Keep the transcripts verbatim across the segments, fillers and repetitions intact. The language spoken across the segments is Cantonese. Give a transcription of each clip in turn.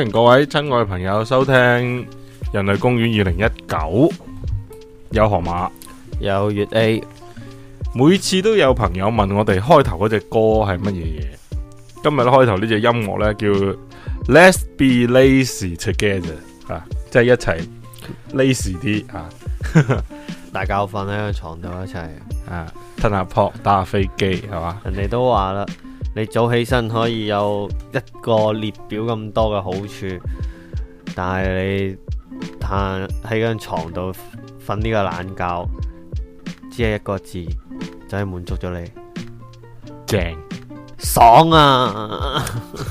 迎各位親愛朋友收聽《人類公園二零一九》，有河馬， 有粵 A， 每次都有朋友問我哋開頭嗰隻歌係乜嘢嘢。今日咧開頭呢隻音樂呢，叫 Let's Be Lazy Together 啊，即係一齊 lazy 啲啊， 大家瞓喺個床度一齊啊，吞下撲打下飛機係嘛？ 人哋都話啦，你早起身可以有一個列表咁多嘅好處，但係你攤喺張床度瞓呢個懶覺，只係一個字就係滿足咗你， 正爽啊！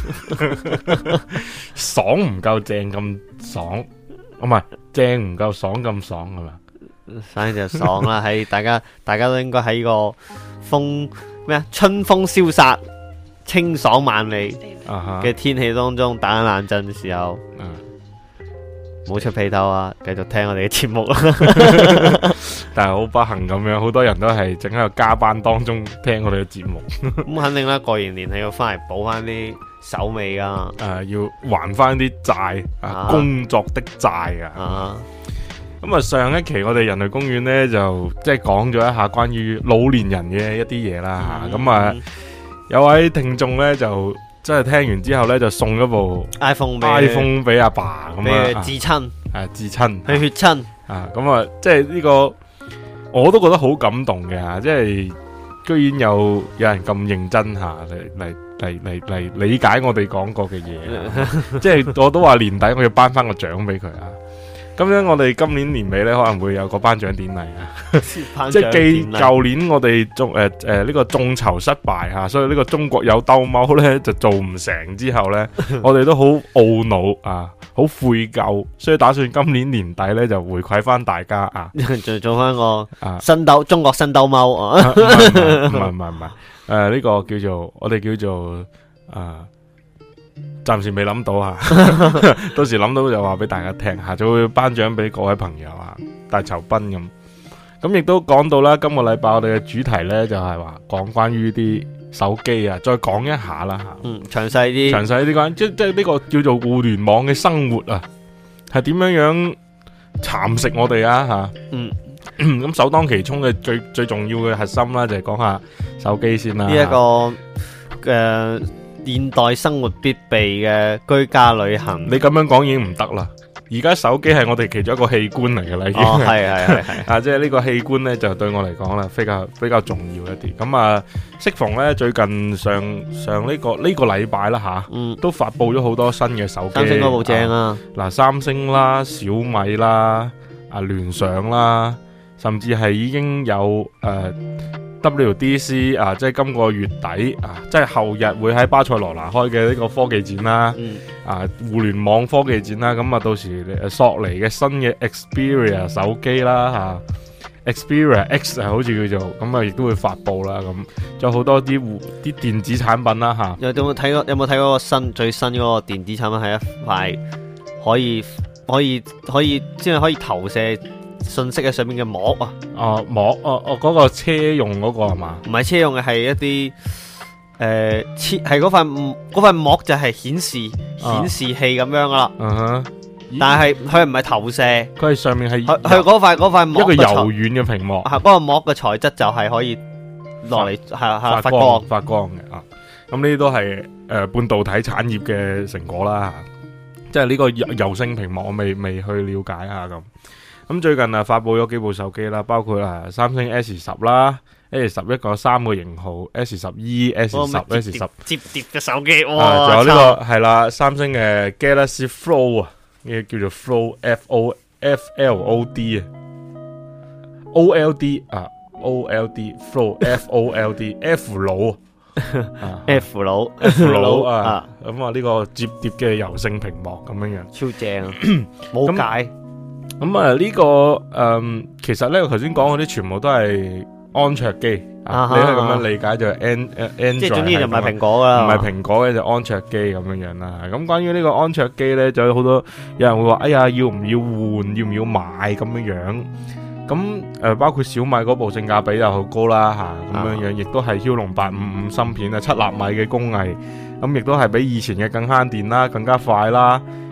爽唔夠正咁爽，唔係正唔夠爽咁爽係嘛？ 反正就爽啦，喺大家大家都應該喺個風咩啊春風蕭殺、清爽萬里嘅天氣當中打緊冷震嘅時候，唔好出被竇啊！繼續聽我哋嘅節目啦。 但係好不幸咁樣，好多人都係正喺度加班當中聽我哋嘅節目。 咁肯定啦，過完年係要翻嚟補翻啲手尾噶。 誒、呃，要還翻啲債啊，工作的債啊。咁啊，上一期我哋人類公園呢，就即係講咗一下關於老年人嘅一啲嘢啦吓。咁、嗯、啊，有位聽眾呢，就即係聽完之後呢，就送咗部 iPhone iPhone 俾阿爸咁啊， 至親誒，至親， 係血親啊。咁啊，即係呢個我都覺得好感動嘅吓，即係居然有有人咁認真吓嚟嚟嚟嚟嚟理解我哋講過嘅嘢，即係我都話年底我要頒翻個獎俾佢啊。咁樣我哋今年年尾咧可能會有個頒獎典禮啊，即係繼舊年我哋眾誒誒呢個眾籌失敗吓，所以呢個中國有兜踎咧就做唔成之後咧，我哋都好懊惱啊，好悔疚，所以打算今年年底咧就回饋翻大家啊， 就做翻個啊新兜中國新兜踎啊，唔係唔係唔係唔係誒呢個叫做我哋叫做啊。暫時未諗到啊，到時諗到就話俾大家聽下，就會頒獎俾各位朋友啊，大酬賓咁。咁亦都講到啦，今個禮拜我哋嘅主題呢，就係話講關於啲手機啊，再講一下啦吓。 嗯，詳細啲， 詳細啲關，即即係呢個叫做互聯網嘅生活啊，係點樣樣蠶食我哋啊吓。嗯，咁首當其衝嘅最最重要嘅核心啦，就係講下手機先啦。 呢一個嘅。現代生活必備嘅居家旅行， 你咁樣講已經唔得啦。而家手機係我哋其中一個器官嚟嘅啦，已經係係係係啊，即係呢個器官呢，就對我嚟講啦，比較比較重要一啲。咁啊，適逢呢，最近上上呢、這個呢、這個禮拜啦吓，嗯，都發佈咗好多新嘅手機。 三星嗰部正啊，嗱、 啊，三星啦、小米啦、啊聯想啦，甚至係已經有誒。呃 W D C 啊，即係今個月底啊，即係後日會喺巴塞羅那開嘅呢個科技展啦，嗯、啊互聯網科技展啦，咁啊到時索尼嘅新嘅 Xperia 手機啦吓、啊、Xperia X 啊好似叫做，咁啊亦都會發佈啦，咁仲有好多啲啲電子產品啦吓、啊。 有冇睇過？有冇睇嗰個新最新嗰個電子產品係一塊可以可以可以即係可以投射信息喺上面嘅膜啊！ 哦膜哦哦嗰個車用嗰個係嘛？ 唔係車用嘅，係一啲誒，係嗰塊嗰塊膜就係顯示顯示器咁樣噶啦。嗯哼，但係佢唔係投射， 佢係上面係佢佢嗰塊嗰塊膜一個柔軟嘅屏幕。 係嗰個膜嘅材質就係可以落嚟係係發光發光嘅啊！咁呢啲都係誒半導體產業嘅成果啦，即係呢個柔性屏幕我未未去了解下咁。咁最近啊，發佈咗幾部手機啦，包括啊三星 S 十啦 ，S 十一個三個型號 ，S 十 E、S 十、S 十摺疊嘅手機，哇！ 仲有呢個係啦，三星嘅 Galaxy Fold 啊，呢個叫做 Fold，F O F L O D 啊 ，O L D 啊 ，O L D Fold，F O L D，F 佬啊 ，F 佬 ，F 佬啊，咁啊呢個摺疊嘅柔性屏幕咁樣樣， 超正啊，冇解。 咁啊呢個誒、嗯，其實咧我頭先講嗰啲全部都係安卓機，啊、你可以咁樣理解就係 N 誒 Android， 即係總之就唔係蘋果噶啦， 唔係蘋果嘅就安卓機咁樣樣啦。咁關於呢個安卓機咧，就有好多有人會話，哎呀要唔要換，要唔要買咁樣樣。咁誒、呃、包括小米嗰部性價比又好高啦吓，咁樣樣亦都係驍龍八五五芯片啊，七納米嘅工藝，咁亦都係比以前嘅更慳電啦，更加快啦。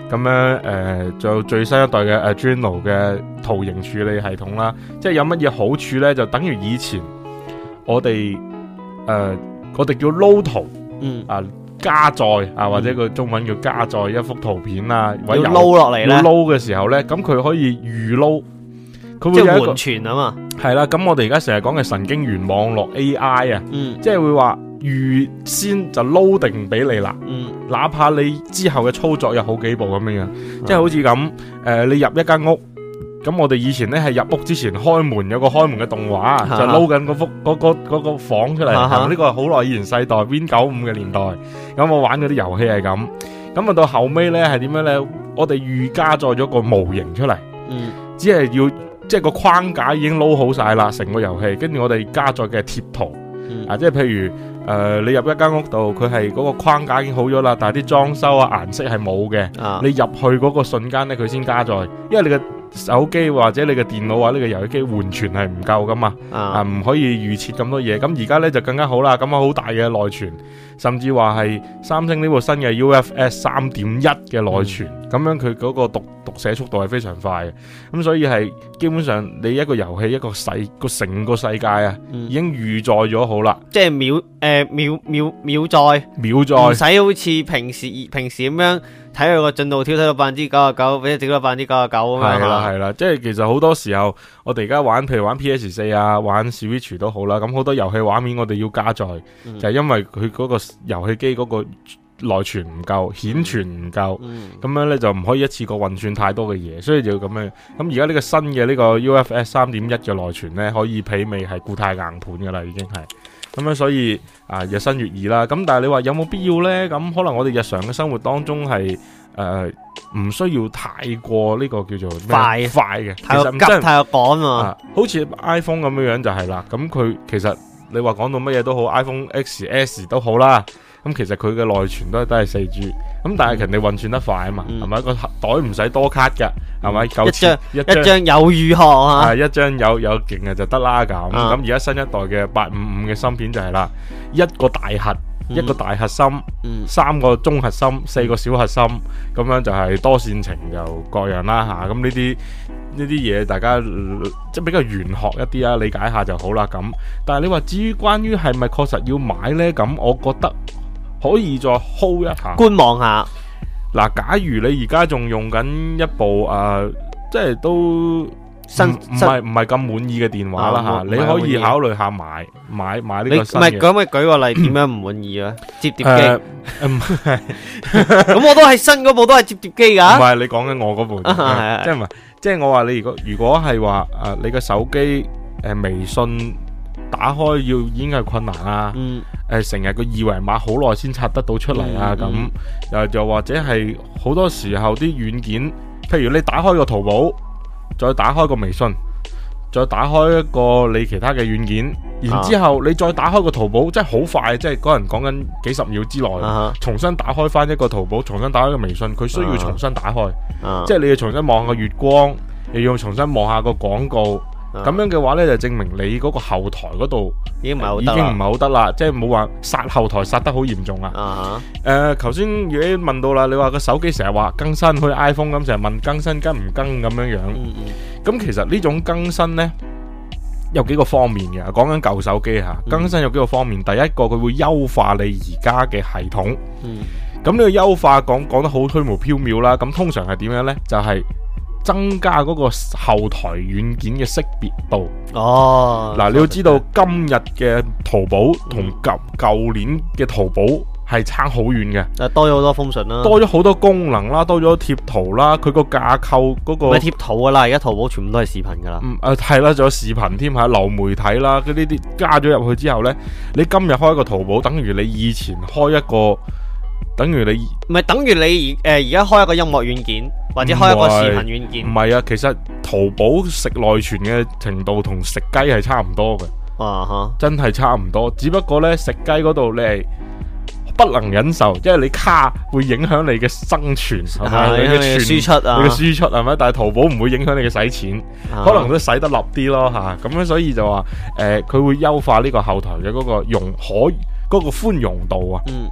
咁樣誒，仲有最新一代嘅 Adreno 嘅圖形處理系統啦，即係有乜嘢好處咧？就等於以前我哋誒、呃、我哋叫撈圖， 嗯啊加載啊，或者個中文叫加載一幅圖片啊， 要撈落嚟咧， 要撈嘅時候咧，咁佢可以預撈，佢會即係有一個緩存啊嘛。 係啦，咁我哋而家成日講嘅神經元網絡 A I 啊， 嗯， 即係會話預先就撈定俾你啦， 嗯， 哪怕你之後嘅操作有好幾步咁樣樣， 嗯、 即係好似咁誒，你入一間屋。咁我哋以前咧係入屋之前開門有個開門嘅動畫，啊、就撈緊嗰幅嗰、嗰個、嗰個房出嚟。呢、啊、個係好耐以前世代 Win 九五嘅年代。咁我玩嗰啲遊戲係咁。咁啊到後尾咧係點樣咧？我哋預加載咗個模型出嚟， 嗯， 只係要即係個框架已經撈好晒啦，成個遊戲。跟住我哋加載嘅貼圖，嗯、啊，即係譬如誒、呃、你入一間屋度，佢係嗰個框架已經好咗啦，但係啲裝修啊顏色係冇嘅。 啊、你入去嗰個瞬間咧，佢先加載，因為你嘅手機或者你嘅電腦或者呢個遊戲機緩存係唔夠噶嘛，啊唔可以預設咁多嘢。咁而家咧就更加好啦，咁啊好大嘅內存，甚至話係三星呢部新嘅 U F S 三點一嘅內存，咁、嗯、樣佢嗰個讀讀寫速度係非常快嘅。咁所以係基本上你一個遊戲一個世個成個世界啊，嗯、已經預載咗好啦， 即係秒誒、呃、秒秒秒載秒載，唔使好似平時平時咁樣。睇佢個進度條睇到百分之九十九，或者整到百分之九十九咁樣。 係啦係啦，即係其實好多時候，我哋而家玩，譬如玩 P S 四啊，玩 Switch 都好啦。咁好多遊戲畫面我哋要加載，嗯、就係因為佢嗰個遊戲機嗰個內存唔夠，顯存唔夠，咁、嗯、樣咧就唔可以一次過運算太多嘅嘢，所以就要咁樣。咁而家呢個新嘅呢個 U F S 三點一嘅內存咧，可以媲美係固態硬盤噶啦，已經係。咁樣所以啊，日新月異啦。咁但係你話有冇必要呢？咁可能我哋日常嘅生活當中係誒唔需要太過呢個叫做快快嘅， 太過急太過趕啊。 好似 iPhone 咁樣樣就係啦。咁佢其實你話講到乜嘢都好 ，iPhone X S 都好啦。咁其實佢嘅內存都係都係四 G。咁但係人哋運算得快啊嘛，係咪、嗯、個袋唔使多卡㗎？係咪、嗯？一張一張有如何啊？ 係一張有有勁嘅就得啦咁。咁而家新一代嘅八五五嘅芯片就係啦，一個大核，嗯、一個大核心，嗯、三個中核心，四個小核心，咁樣就係多線程就各樣啦吓。咁呢啲呢啲嘢大家即係比較玄學一啲啊，理解下就好啦咁。但係你話至於關於係咪確實要買呢？咁我覺得可以再 hold 一下， 觀望下。 嗱，假如你而家仲用緊一部誒、呃，即係都新唔係唔係咁滿意嘅電話啦吓，啊、你可以考慮下買買買呢個新嘅。唔係，咁咪舉個例，點樣唔滿意啊？摺疊機，咁、呃、我都係新嗰部都係摺疊機噶。唔係，你講緊我嗰部，即係唔係？即係我話你如果如果係話誒，你個手機誒、呃、微信打開要已經係困難啊。嗯誒，成日個二維碼好耐先刷得到出嚟啊！咁又、嗯嗯、又或者係好多時候啲軟件，譬如你打開個淘寶，再打開個微信，再打開一個你其他嘅軟件，然之後你再打開個淘寶，即係好快，即係嗰人講緊幾十秒之內，啊、重新打開翻一個淘寶，重新打開個微信，佢需要重新打開，啊、即係你要重新望下個月光，又要重新望下個廣告。咁樣嘅話呢，就證明你嗰個後台嗰度已經唔係好得啦，已經唔係好得啦，即係冇話殺後台殺得好嚴重啊！誒，頭先如果問到啦，你話個手機成日話更新，好似 iPhone 咁，成日問更新跟唔跟咁樣樣。咁、嗯嗯、其實呢種更新呢，有幾個方面嘅，講緊舊手機吓，更新有幾個方面。嗯、第一個佢會優化你而家嘅系統。咁呢、嗯、個優化講講得好虛無縹緲啦。咁通常係點樣呢？就係、是增加嗰個後台軟件嘅識別度。哦，嗱，你要知道今日嘅淘寶同舊舊年嘅淘寶係差好遠嘅。 誒，多咗好多 function 啦， 多咗好多功能啦，多咗貼圖啦，佢個架構嗰個。唔係貼圖噶啦，而家淘寶全部都係視頻噶啦。嗯，誒係啦，仲有視頻添吓，流媒體啦，嗰呢啲加咗入去之後呢，你今日開一個淘寶，等於你以前開一個。等於你唔係等於你誒而家開一個音樂軟件或者開一個視頻軟件， 唔係啊，其實淘寶食內存嘅程度同食雞係差唔多嘅。啊哈，真係差唔多，只不過呢，食雞嗰度你係不能忍受，因為你卡會影響你嘅生存，係咪、啊？你嘅輸出啊，你嘅輸出係咪？但係淘寶唔會影響你嘅使錢，啊、可能都使得落啲咯吓。咁樣所以就話誒，佢、呃、會優化呢個後台嘅嗰個容可嗰、嗰個寬容度啊。嗯。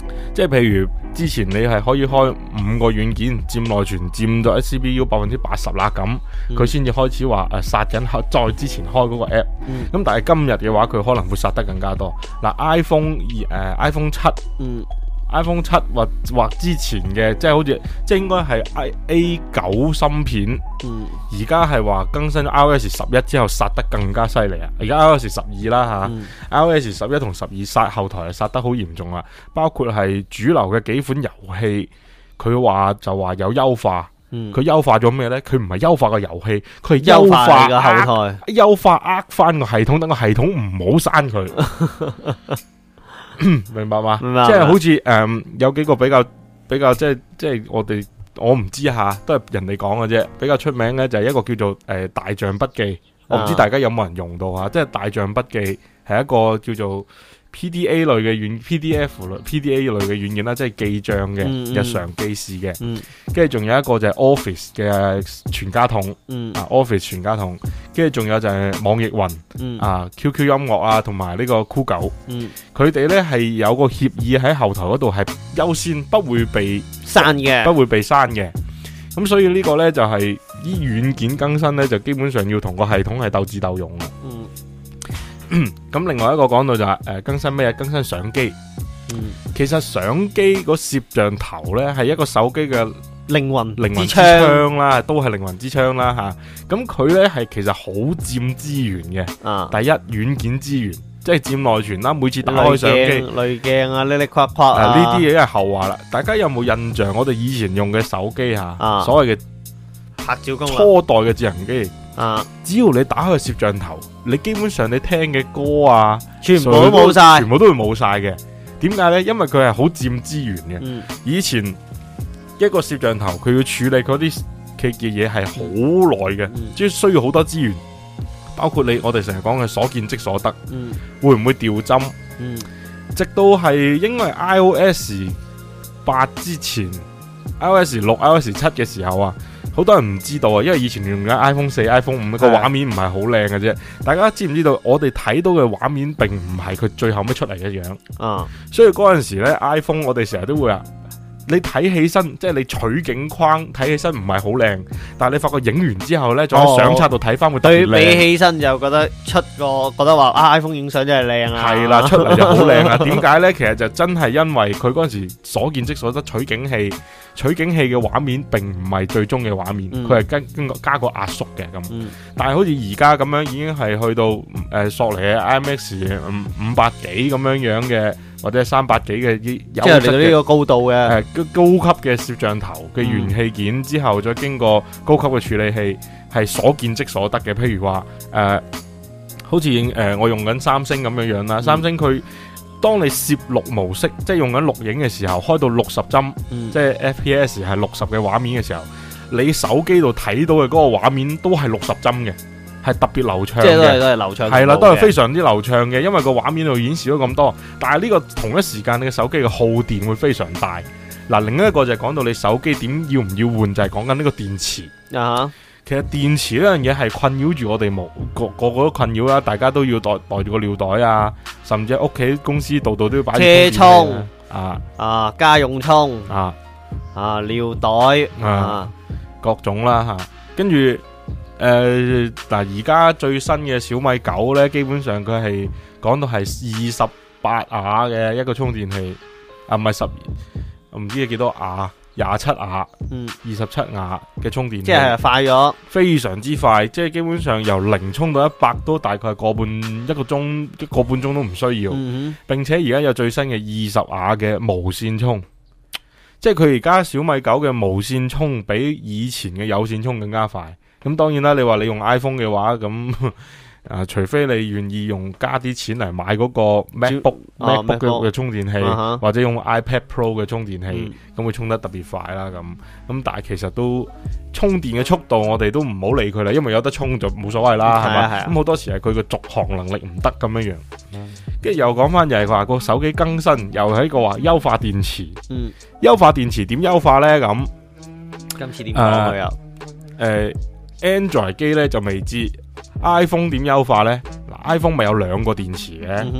即係譬如之前你係可以開五個軟件佔內存佔到 C P U 百分之八十啦，咁佢先至開始話誒殺緊再之前開嗰個 app。咁、嗯、但係今日嘅話，佢可能會殺得更加多。嗱 iPhone 誒、呃、iPhone 七。嗯iPhone 七或或之前嘅，即係好似即係應該係 A 九芯片，而家係話更新 iOS 十一之後殺得更加犀利啊！而家 iOS 十二啦吓 iOS 十一同十二殺後台係殺得好嚴重啊！包括係主流嘅幾款遊戲，佢話就話有優化，佢優、嗯、化咗咩呢？佢唔係優化個遊戲，佢係優化個後台，優化呃翻個系統，等個系統唔好刪佢。明白嘛？即係好似誒、嗯，有幾個比較比較即係即係我哋我唔知下，都係人哋講嘅啫。比較出名嘅就係一個叫做誒、呃、大象筆記，我唔知大家有冇人用到啊？即係大象筆記係一個叫做 P D A 類嘅軟 P D F 類 P D A 類嘅軟件啦，即係記賬嘅、嗯、日常記事嘅。跟住仲有一個就係 Office 嘅全家桶，嗯、啊 Office 全家桶。跟住仲有就係網易雲，嗯、啊 Q Q 音樂啊，同埋呢個酷狗。佢哋咧係有個協議喺後台嗰度係優先不會被刪嘅，不會被刪嘅。咁所以呢個咧就係依軟件更新咧，就基本上要同個系統係鬥智鬥勇啦。嗯，咁另外一個講到就係、是、誒、呃、更新咩？更新相機。嗯，其實相機個攝像頭咧係一個手機嘅靈魂，靈魂之槍啦，都係靈魂之槍啦吓。咁佢咧係其實好佔資源嘅。啊，第一軟件資源，即係佔內存啦。每次打開相機，濾鏡啊，呢呢框框啊，呢啲嘢係後話啦。大家有冇印象？我哋以前用嘅手機吓，啊、所謂嘅拍照功能，初代嘅智能機。啊！只要你打開個攝像頭，你基本上你聽嘅歌啊，全部都冇晒，全部都會冇晒嘅。點解呢？因為佢係好佔資源嘅。嗯、以前一個攝像頭佢要處理嗰啲嘅嘢係好耐嘅，即係、嗯、需要好多資源。包括你我哋成日講嘅所見即所得，嗯、會唔會掉針？嗯、直到係應該係 iOS 八之前 ，iOS 六、iOS 七嘅時候啊。好多人唔知道啊，因為以前用緊 iPhone 四、iPhone 五個畫面唔係好靚嘅啫。大家知唔知道？我哋睇到嘅畫面並唔係佢最後尾出嚟嘅樣。啊，所以嗰陣時咧 ，iPhone 我哋成日都會話，你睇起身即係你取景框睇起身唔係好靚，但係你發覺影完之後咧，再喺相冊度睇翻會特別靚。對比起身就覺得出個覺得話啊 iPhone 影相真係靚啊。係啦，出嚟就好靚啊。點解咧？其實就真係因為佢嗰陣時所見即所得，取景器。取景器嘅畫面並唔係最終嘅畫面，佢係、嗯、跟跟加個壓縮嘅咁。嗯、但係好似而家咁樣已經係去到誒、呃、索尼嘅 I M X 五五百幾咁樣樣嘅，或者係三百幾嘅，即係嚟到呢個高度嘅誒、呃、高級嘅攝像頭嘅元器件之後，再經過高級嘅處理器，係所見即所得嘅。譬如話誒、呃，好似誒、呃、我用緊三星咁樣樣啦，嗯、三星佢。當你攝錄模式，即係用緊錄影嘅時候，開到六十幀，嗯、即係 F P S 係六十嘅畫面嘅時候，你手機度睇到嘅嗰個畫面都係六十幀嘅，係特別流暢嘅，即係都係都係流暢，係啦，都係非常之流暢嘅，因為個畫面度顯示咗咁多。但係呢個同一時間，你嘅手機嘅耗電會非常大。嗱，另一個就係講到你手機點要唔要換，就係講緊呢個電池啊。其實電池呢樣嘢係困擾住我哋冇個個個都困擾啦，大家都要袋袋住個尿袋啊，甚至屋企公司度度都要擺車充啊啊家用充啊啊尿袋啊，啊各種啦吓，跟住誒嗱而家最新嘅小米九咧，基本上佢係講到係二十八瓦嘅一個充電器啊，唔係十二，我唔知係幾多瓦。廿七瓦，嗯，二十七瓦嘅充電器，即係快咗，非常之快，即係基本上由零充到一百都大概個半一個鐘，一個半鐘都唔需要，嗯、哼並且而家有最新嘅二十瓦嘅無線充，即係佢而家小米九嘅無線充比以前嘅有線充更加快。咁當然啦，你話你用 iPhone 嘅話咁。啊，除非你願意用加啲錢嚟買嗰個 MacBook、啊、MacBook 嘅充電器，啊、或者用 iPad Pro 嘅充電器，咁、嗯、會充得特別快啦。咁咁，但係其實都充電嘅速度，我哋都唔好理佢啦，因為有得充就冇所謂啦，係嘛？咁好多時係佢個續航能力唔得咁樣樣。跟住、嗯、又講翻就係話個手機更新，又係一個話優化電池。嗯，優化電池點優化咧？咁今次點講佢又？誒、呃、，Android 機咧就未知。iPhone 點優化呢？嗱，iPhone 咪有兩個電池嘅、嗯、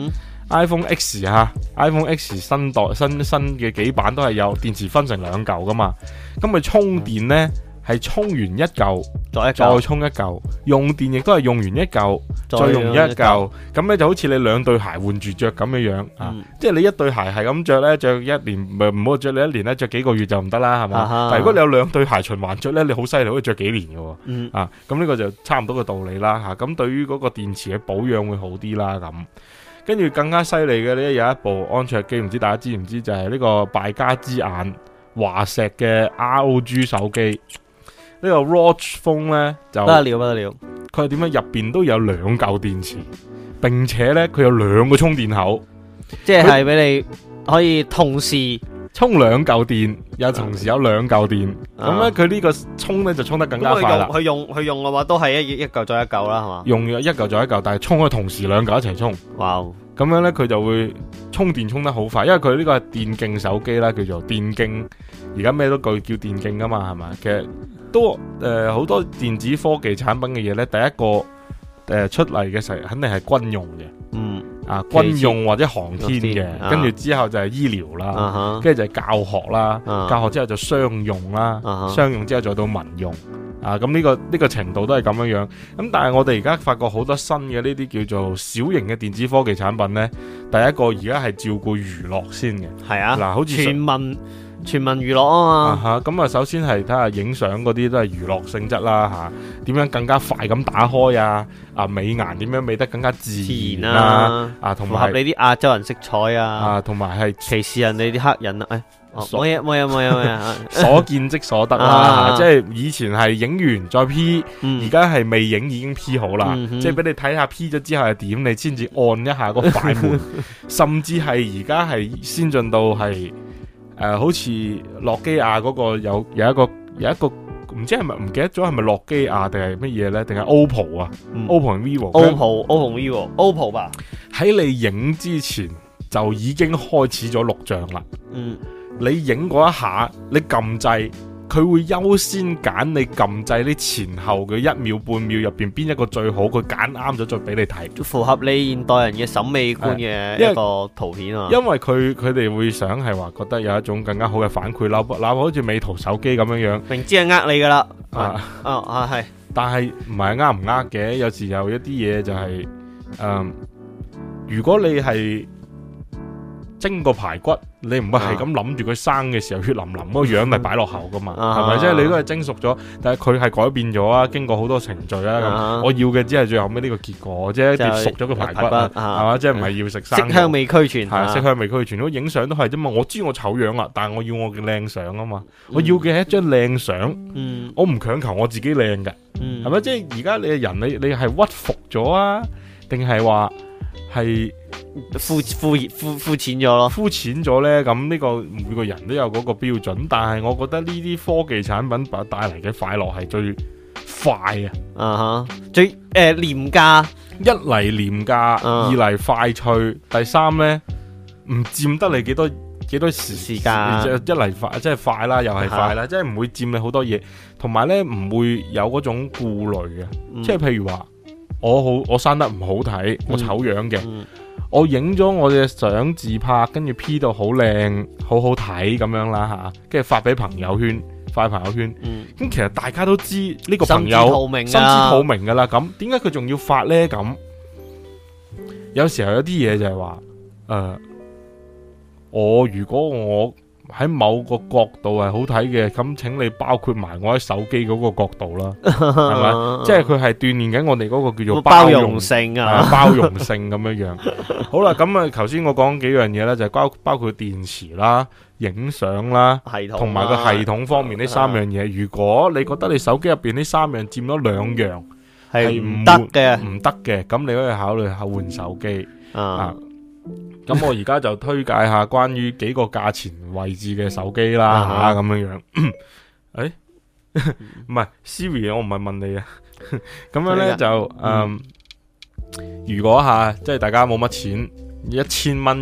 iPhone X 吓 ，iPhone X 新代新新嘅幾版都係有電池分成兩嚿噶嘛，咁佢充電呢，係充完一嚿再再充一嚿，用電亦都係用完一嚿再用一嚿，咁咧就好似你兩對鞋換住着咁樣樣啊， 嗯、即係你一對鞋係咁着咧，着一年唔唔好着你一年咧，着幾個月就唔得啦，係嘛？ 啊、 但如果你有兩對鞋循環着咧，你好犀利，可以着幾年嘅， 嗯、 啊，咁呢個就差唔多嘅道理啦吓，咁、啊、對於嗰個電池嘅保養會好啲啦咁。跟住更加犀利嘅呢，有一部安卓機，唔知大家知唔知就係、是、呢個敗家之眼華碩嘅 R O G 手機。呢個 Watch Phone 呢，就不得了不得了， 佢係點樣？入邊都有兩嚿電池，並且呢，佢有兩個充電口， 即係俾你可以同時充兩嚿電，又同時有兩嚿電。咁咧佢呢個充呢，就充得更加快啦。 佢用佢用嘅話都係一一嚿再一嚿啦，係嘛？ 用咗一嚿再一嚿，但係充可以同時兩嚿一齊充。 哇！ 咁樣呢，佢就會充電充得好快，因為佢呢個係電競手機啦，叫做電競。而家咩都叫叫電競噶嘛，係嘛？其實都誒好、呃、多電子科技產品嘅嘢呢，第一個誒、呃、出嚟嘅時候肯定係軍用嘅，嗯啊軍用或者航天嘅，跟住、啊、之後就係醫療啦，跟住、啊、就係教學啦，啊、教學之後就商用啦，啊、商用之後再到民用。啊，咁呢、這個呢、這個程度都係咁樣樣，咁但係我哋而家發覺好多新嘅呢啲叫做小型嘅電子科技產品呢，第一個而家係照顧娛樂先嘅，係啊，嗱、啊，好似全民全民娛樂啊嘛， 咁啊，首先係睇下影相嗰啲都係娛樂性質啦，吓、啊，點樣更加快咁打開啊，啊，美顏點樣美得更加自然啊，啊，同埋符合你啲亞洲人色彩啊， 啊，同埋係歧視人哋啲黑人啊，誒、哎。冇嘢冇嘢冇嘢冇嘢， 所見即所得啦，啊、即係以前係影完再 P，而家係未影已經 P 好啦，嗯、即係俾你睇下 P 咗之後係點，你先至按一下個快門，甚至係而家係先進到係誒、呃，好似諾基亞嗰個有有一個有一個唔知係咪唔記得咗係咪諾基亞定係乜嘢咧？定係 O P P O 啊、嗯、？O P P O 同 vivo，O P P O O P P O vivo，O P P O 吧？ 喺你影之前就已經開始咗錄像啦。嗯。你影嗰一下，你撳掣，佢會優先揀你撳掣呢前後嘅一秒半秒入邊邊一個最好，佢揀啱咗再俾你睇， 符合你現代人嘅審美觀嘅一個圖片啊。 因為佢佢哋會想係話覺得有一種更加好嘅反饋啦，哪怕好似美圖手機咁樣樣， 明知係呃你噶啦， 啊啊啊係， 但係唔係呃唔呃嘅，有時有一啲嘢就係、是，誒、嗯，如果你係蒸個排骨。你唔會係咁諗住佢生嘅時候血淋淋嗰個樣嚟擺落口噶嘛，係咪？即係你都係蒸熟咗，但係佢係改變咗啊，經過好多程序啊。咁我要嘅只係最後尾呢個結果，即係一碟熟咗嘅排骨，係嘛？即係唔係要食生。 色香味俱全， 係色香味俱全。如果影相都係啫嘛，我知我醜樣啦，但係我要我嘅靚相啊嘛，我要嘅係一張靚相。我唔強求我自己靚嘅，係咪？即係而家你嘅人，你你係屈服咗啊，定係話係？ 膚膚膚膚淺咗咯， 膚淺咗呢，咁呢個每個人都有嗰個標準，但係我覺得呢啲科技產品帶嚟嘅快樂係最快啊，啊哈， 最誒、呃、廉價， 一嚟廉價，uh huh. 二嚟快脆，第三呢，唔佔得你幾多幾多時時間，一嚟快即係快啦，又係快啦，uh huh. 即係唔會佔你好多嘢，同埋呢唔會有嗰種顧慮嘅，嗯、即係譬如話我好我生得唔好睇，我醜樣嘅。嗯嗯我影咗我嘅相自拍，跟住 P 到好靚，好好睇咁樣啦吓，跟住發俾朋友圈，發朋友圈。咁、嗯、其實大家都知呢個朋友心知肚明，心知肚明噶啦。咁點解佢仲要發呢？咁有時候有啲嘢就係話，誒、呃，我如果我喺某個角度係好睇嘅，咁請你包括埋我喺手機嗰個角度啦，係咪？即係佢係鍛煉緊我哋嗰個叫做包容，包容性啊，啊包容性咁樣樣。好啦，咁啊，頭先我講幾樣嘢咧，就係包包括電池啦、影相啦，同埋個系統方面呢三樣嘢。如果你覺得你手機入邊呢三樣佔咗兩樣係唔得嘅，唔得嘅，咁你可以考慮下換手機啊。咁我而家就推介下關於幾個價錢位置嘅手機啦吓，咁樣樣。誒，唔係 Siri， 我唔係問你啊。咁樣咧就誒，如果吓即係大家冇乜錢，一千蚊嘅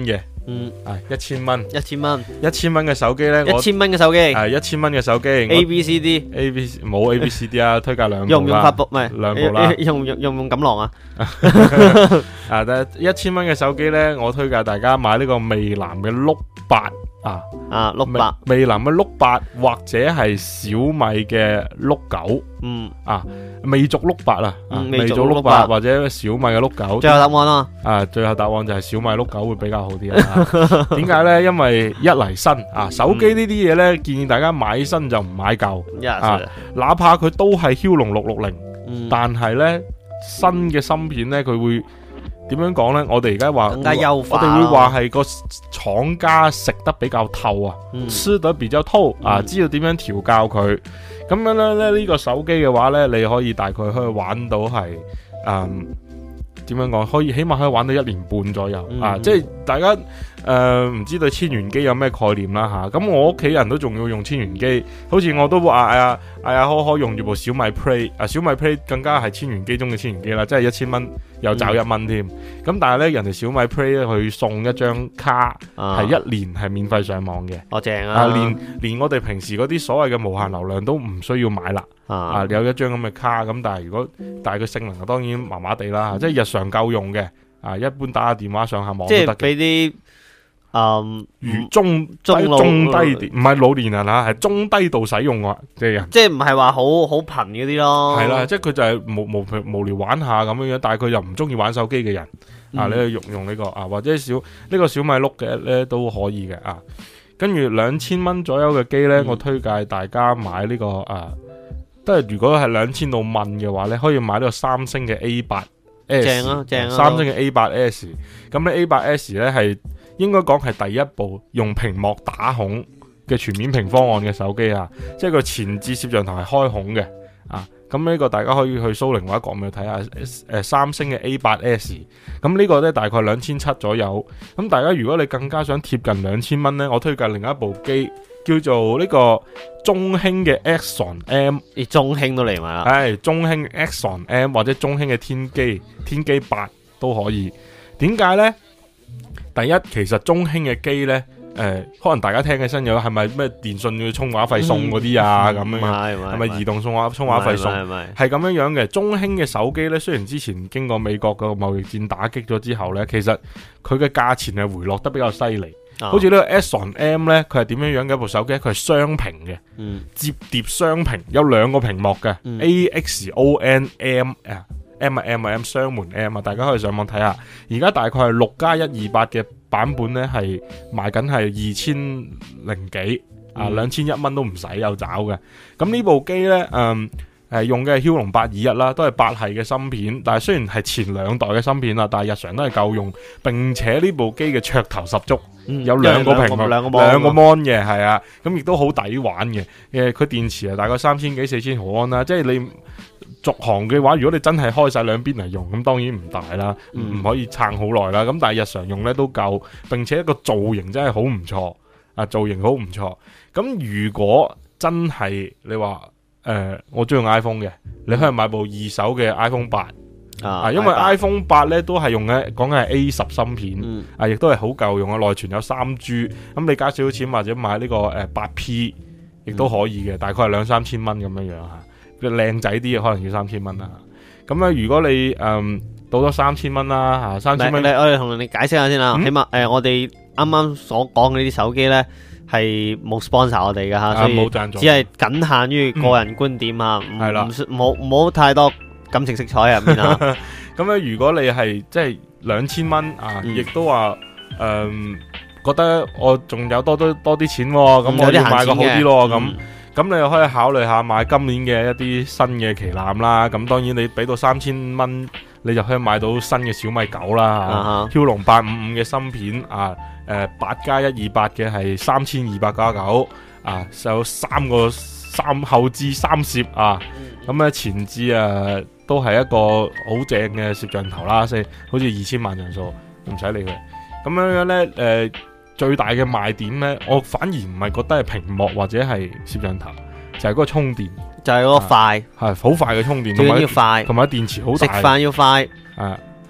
嗯， 係一千蚊， 一千蚊， 一千蚊嘅手機咧， 一千蚊嘅手機， 係一千蚊嘅手機 ，A B C D，A B 冇 A B C D 啊，推介兩部啦， 用唔用發布？唔係兩部啦， 用唔用用唔用錦囊啊？ 啊，但係一千蚊嘅手機咧，我推介大家買呢個魅藍嘅碌八啊， 啊碌八， 魅藍嘅碌八或者係小米嘅碌九，嗯啊，魅族碌八啊，魅族碌八或者小米嘅碌九。 最後答案啊， 啊，最後答案就係小米碌九會比較好啲啊。點解咧？因為一嚟新啊，手機呢啲嘢咧，建議大家買新就唔買舊啊，哪怕佢都係驍龍六六零，但係咧新嘅芯片咧，佢會。點樣講呢？我哋而家話， 更加優化， 我哋會話係個廠家食得比較透啊， 嗯、 吃得比較透啊，知道點樣調教佢。咁樣咧呢、呢個手機嘅話呢，你可以大概可以玩到係，嗯，點樣講？可以起碼可以玩到一年半左右、嗯、啊！即係大家誒唔、呃、知對千元機有咩概念啦吓。咁、啊、我屋企人都仲要用千元機，好似我都話哎呀哎呀可可用住部小米 Play 啊，小米 Play 更加係千元機中嘅千元機啦，即係一千蚊。又找一蚊添，咁、嗯、但係咧，人哋小米 Play 咧，佢送一張卡，係、啊、一年係免費上網嘅。 哦，正啊！ 啊，連連我哋平時嗰啲所謂嘅無限流量都唔需要買啦。啊，啊有一張咁嘅卡，咁但係如果但係佢性能當然麻麻地啦，即係日常夠用嘅。啊，一般打下電話上下網都得嘅。 即係俾啲。嗯， 如中中中低啲，唔係老年人吓，係中低度使用嘅即係人， 即係唔係話好好頻嗰啲咯。係啦， 即係佢就係無無無聊玩下咁樣樣，但係佢又唔中意玩手機嘅人、嗯、啊，你去用用呢、這個啊，或者小呢、這個小米碌嘅咧都可以嘅啊。跟住兩千蚊左右嘅機咧，嗯、我推介大家買呢、這個啊，都係如果係兩千到蚊嘅話咧，可以買呢個三星嘅 A 八 S， 正啊正啊， 三星嘅 A 八 S， 咁咧 A 八 S 咧係。應該講係第一部用屏幕打孔嘅全面屏方案嘅手機啊，即係個前置攝像頭係開孔嘅啊。咁呢個大家可以去蘇寧或者國美睇下，誒、呃、三星嘅 A 八 S， 咁呢個咧大概兩千七左右。咁大家如果你更加想貼近兩千蚊咧，我推介另一部機叫做呢個中興嘅 Axon M， 你中興都嚟埋啦， 係中興 Axon M 或者中興嘅天機天機八都可以。點解咧？第一，其實中興嘅機呢，誒、呃，可能大家聽起身有係咪咩電信要充話費送嗰啲啊？咁、嗯、樣係咪移動送話充話費送？係咁樣樣嘅。中興嘅手機呢，雖然之前經過美國個貿易戰打擊咗之後呢，其實佢嘅價錢係回落得比較犀利。哦、好似呢個 Axon M 呢，佢係點樣樣嘅一部手機？佢係雙屏嘅，嗯、摺疊雙屏，有兩個屏幕嘅、嗯、A X O N M 啊。M 啊 M 啊 M 雙門 M 啊，大家可以上網睇下。而家大概係六加一二八嘅版本咧，係賣緊係二千零幾啊，兩千一蚊都唔使有找嘅。咁呢部機咧，嗯，誒用嘅係驍龍八二一啦，都係八系嘅芯片。但係雖然係前兩代嘅芯片啦，但係日常都係夠用。並且呢部機嘅噱頭十足，嗯、有兩個屏幕，兩個 mon 嘅，係啊，咁亦都好抵玩嘅。誒，佢電池啊，大概三千幾四千毫安啦，即係你。續航嘅話，如果你真係開晒兩邊嚟用，咁當然唔大啦，唔、嗯、可以撐好耐啦。咁但係日常用咧都夠，並且一個造型真係好唔錯，啊造型好唔錯。咁如果真係你話誒、呃，我中意用 iPhone 嘅，你可以買部二手嘅 iPhone 八啊，啊，因為 iPhone 八咧都係用嘅，講緊係 A 十芯片，嗯、啊亦都係好夠用啊，內存有三 G，咁你加少少錢或者買呢、這個誒八 P， 亦都可以嘅，大概係兩三千蚊咁樣樣吓。靚仔啲嘅可能要三千蚊啦，咁咧如果你誒到咗三千蚊啦吓，三千蚊， 我哋同你解釋下先啦，嗯、起碼誒、呃、我哋啱啱所講嘅呢啲手機咧係冇 sponsor 我哋嘅吓，所以只係僅限於個人觀點吓，係啦、嗯，冇冇太多感情色彩入面啊。 咁咧如果你係即係兩千蚊啊，亦、嗯、都話誒、呃、覺得我仲有多多多啲錢，咁、嗯、我要買個好啲咯咁。咁你又可以考慮下買今年嘅一啲新嘅旗艦啦，咁當然你俾到三千蚊，你就可以買到新嘅小米九啦，驍龍八五五嘅芯片啊，誒八加一二八嘅係三千二百加九啊，有三個三後置三攝啊，咁咧前置啊都係一個好正嘅攝像頭啦，即係好似二千萬像素，唔使理佢，咁樣樣咧誒。呃最大嘅賣點咧，我反而唔係覺得係屏幕或者係攝像頭，就係、是、嗰個充電， 就係嗰個快， 係好快嘅充電， 最緊要快， 同埋電池好大， 食飯要快， 啊，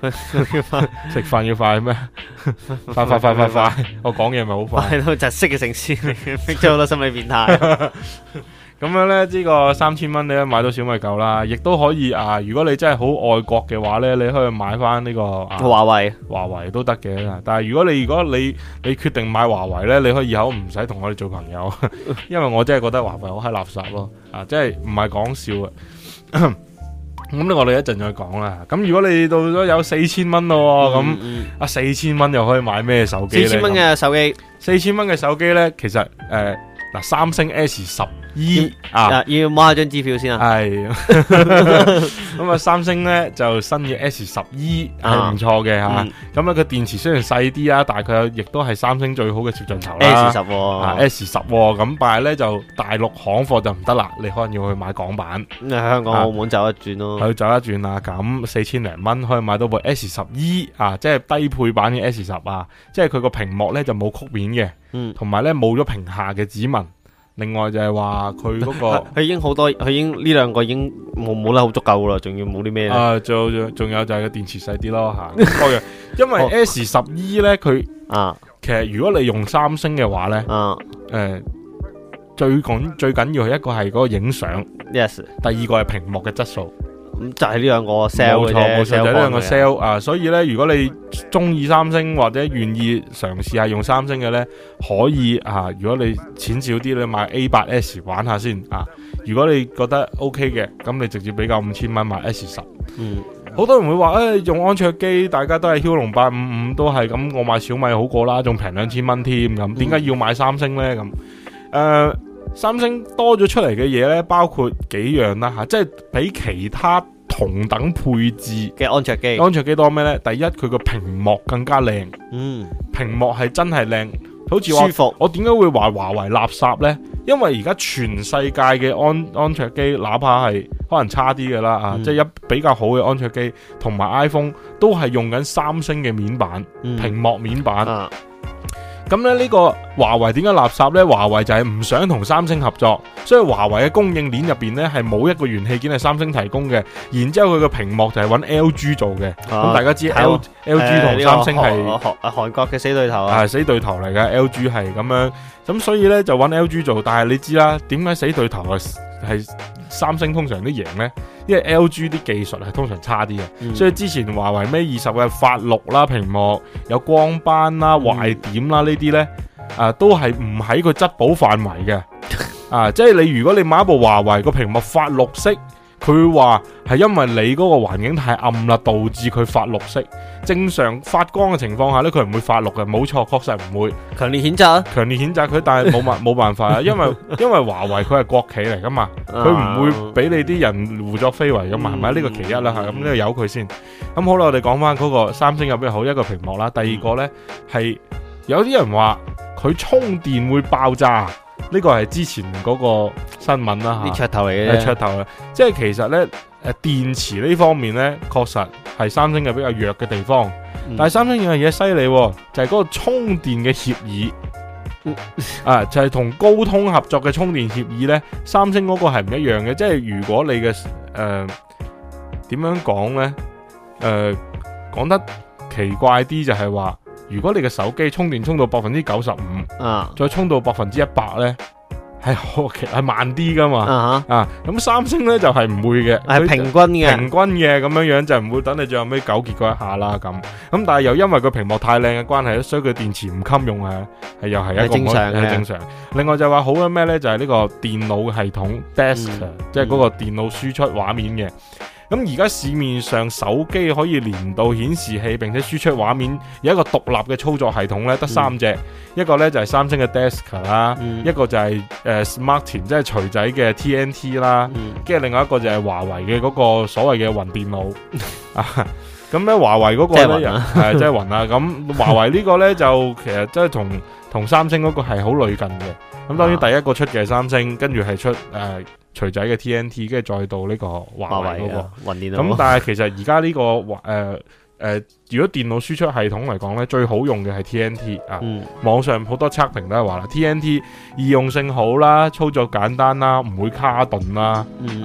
食飯要快咩？快快快快快！我講嘢咪好快。 係咯，窒息嘅城市，逼咗好多心理變態。 咁樣咧，呢個三千蚊你都買到小米九啦，亦都可以啊！如果你真係好愛國嘅話咧，你可以買翻呢、這個啊華為， 華為都得嘅。但係如果你如果你你決定買華為咧，你可以以後唔使同我哋做朋友，因為我真係覺得華為好閪垃圾咯，啊，即係唔係講笑啊！咁我哋一陣再講啦。咁如果你到咗有四千蚊咯，咁、嗯嗯、啊四千蚊又可以買咩手機咧？ 四千蚊嘅手機， 四千蚊嘅手機咧，其實誒嗱、呃，三星 S 十。E 啊， 要摸下張支票先啊。 係咁啊，三星咧就新嘅 S 十 E 係唔錯嘅吓。咁啊，個電池雖然細啲啊，但係佢亦都係三星最好嘅攝像頭啦。 S 十、哦啊、S 十咁，但係咧就大陸行貨就唔得啦，你可能要去買港版。 咁喺香港、澳門走一轉咯。 去走一轉啊！咁四千零蚊可以買到部 S 十 E 啊，即係低配版嘅 S 十啊，即係佢個屏幕咧就冇曲面嘅，嗯，同埋咧冇咗屏下嘅指紋。另外就係話佢嗰個， 佢已經好多，佢已經呢兩個已經冇冇得好足夠啦，仲要冇啲咩咧？ 啊，仲仲有就係個電池細啲咯吓，各樣。因為 S 十 E 咧，佢啊，其實如果你用三星嘅話咧，啊，誒、呃，最緊最緊要係一個係嗰個影相 ，yes， 第二個係屏幕嘅質素。 咁就係呢兩個 sell 冇錯冇錯，就係呢兩個 sell 啊！所以咧，如果你中意三星或者願意嘗試下用三星嘅咧，可以啊！如果你錢少啲咧，買 A 八 S 玩下先啊！如果你覺得 OK 嘅，咁你直接俾夠五千蚊買 S 十。嗯，好多人會話誒、哎，用安卓機，大家都係驍龍八五五，都係咁，我買小米好過啦，仲平兩千蚊添咁，點解要買三星咧？咁誒。呃三星多咗出嚟嘅嘢咧，包括幾樣啦吓，即係比其他同等配置嘅安卓機， 安卓機多咩咧？第一，佢個屏幕更加靚， 嗯， 屏幕係真係靚，好似舒服。 我點解會話華為垃圾咧？因為而家全世界嘅安安卓機，哪怕係可能差啲嘅啦啊，嗯、即係一比較好嘅安卓機，同埋 iPhone 都係用緊三星嘅面板，嗯、屏幕面板。啊咁咧呢個華為點解垃圾呢？華為就係唔想同三星合作，所以華為嘅供應鏈入邊呢係冇一個元器件係三星提供嘅。然之後佢個屏幕就係揾 L G 做嘅。咁、啊、大家知 L L G 同三星係韓韓國嘅死對頭啊， 係死對頭嚟嘅。L G 係咁樣，咁所以呢就揾 L G 做。但係你知啦，點解死對頭係係三星通常都贏呢？因為 L G 啲技術係通常差啲嘅、嗯，所以之前華為 Mate 二十嘅發綠啦，屏幕有光斑啦、壞、嗯、點啦呢啲呢，啊都係唔喺個質保範圍嘅，啊即係你如果你買一部華為個屏幕發綠色，佢會話係因為你嗰個環境太暗啦，導致佢發綠色。正常發光嘅情況下呢，佢唔會發綠嘅，冇錯，確實唔會。 強烈譴責啊！ 強烈譴責佢，但係冇辦冇辦法啊，因為因為華為佢係國企嚟噶嘛，佢唔會俾你啲人胡作非為噶嘛，係、嗯、咪？呢、這個其一啦吓，咁呢個由佢先。咁好啦，我哋講翻嗰個三星有咩好？一個屏幕啦，第二個呢係有啲人話佢充電會爆炸，呢、這個係之前嗰個新聞啦吓， 啲噱頭嚟嘅， 係噱頭啦。即係其實呢。誒，電池呢方面呢，確實係三星嘅比較弱嘅地方。嗯、但係三星有樣嘢犀利，就係、是、嗰個充電嘅協議，嗯、啊，就係、是、同高通合作嘅充電協議呢，三星嗰個係唔一樣嘅。即係如果你嘅誒點樣講呢？誒、呃、講得奇怪啲就係話，如果你嘅手機充電充到百分之九十五，啊，再充到百分之一百呢。係好，其實係慢啲噶嘛，uh -huh. 啊，咁三星咧就係、是、唔會嘅，係平均嘅，平均嘅咁樣樣就唔會等你最後尾糾結嗰一下啦咁。咁但係又因為個屏幕太靚嘅關係，所以佢電池唔襟用啊，係又係一個正常嘅正常。另外就話好嘅咩咧，就係、是、呢個電腦系統 desk，、嗯、即係嗰個電腦輸出畫面嘅。咁而家市面上手機可以連到顯示器並且輸出畫面，有一個獨立嘅操作系統咧，得三隻、嗯，一個咧就係、是、三星嘅 Desk 啦、嗯，一個就係、是、誒、呃、Smartisan 即係錘仔嘅 T N T 啦，跟、嗯、住另外一個就係華為嘅嗰個所謂嘅雲電腦啊。咁咧華為嗰個咧係即係雲啊。咁華為呢個咧就其實即係同同三星嗰個係好類近嘅。咁當然第一個出嘅係三星，跟住係出誒。呃錘仔嘅 T N T， 跟住再到呢個華為嗰、那個雲電腦。咁但係其實而家呢個誒誒、呃呃，如果電腦輸出系統嚟講咧，最好用嘅係 T N T 啊。嗯、網上好多測評都係話啦 ，T N T 易用性好啦，操作簡單啦，唔會卡頓啦、嗯，啊，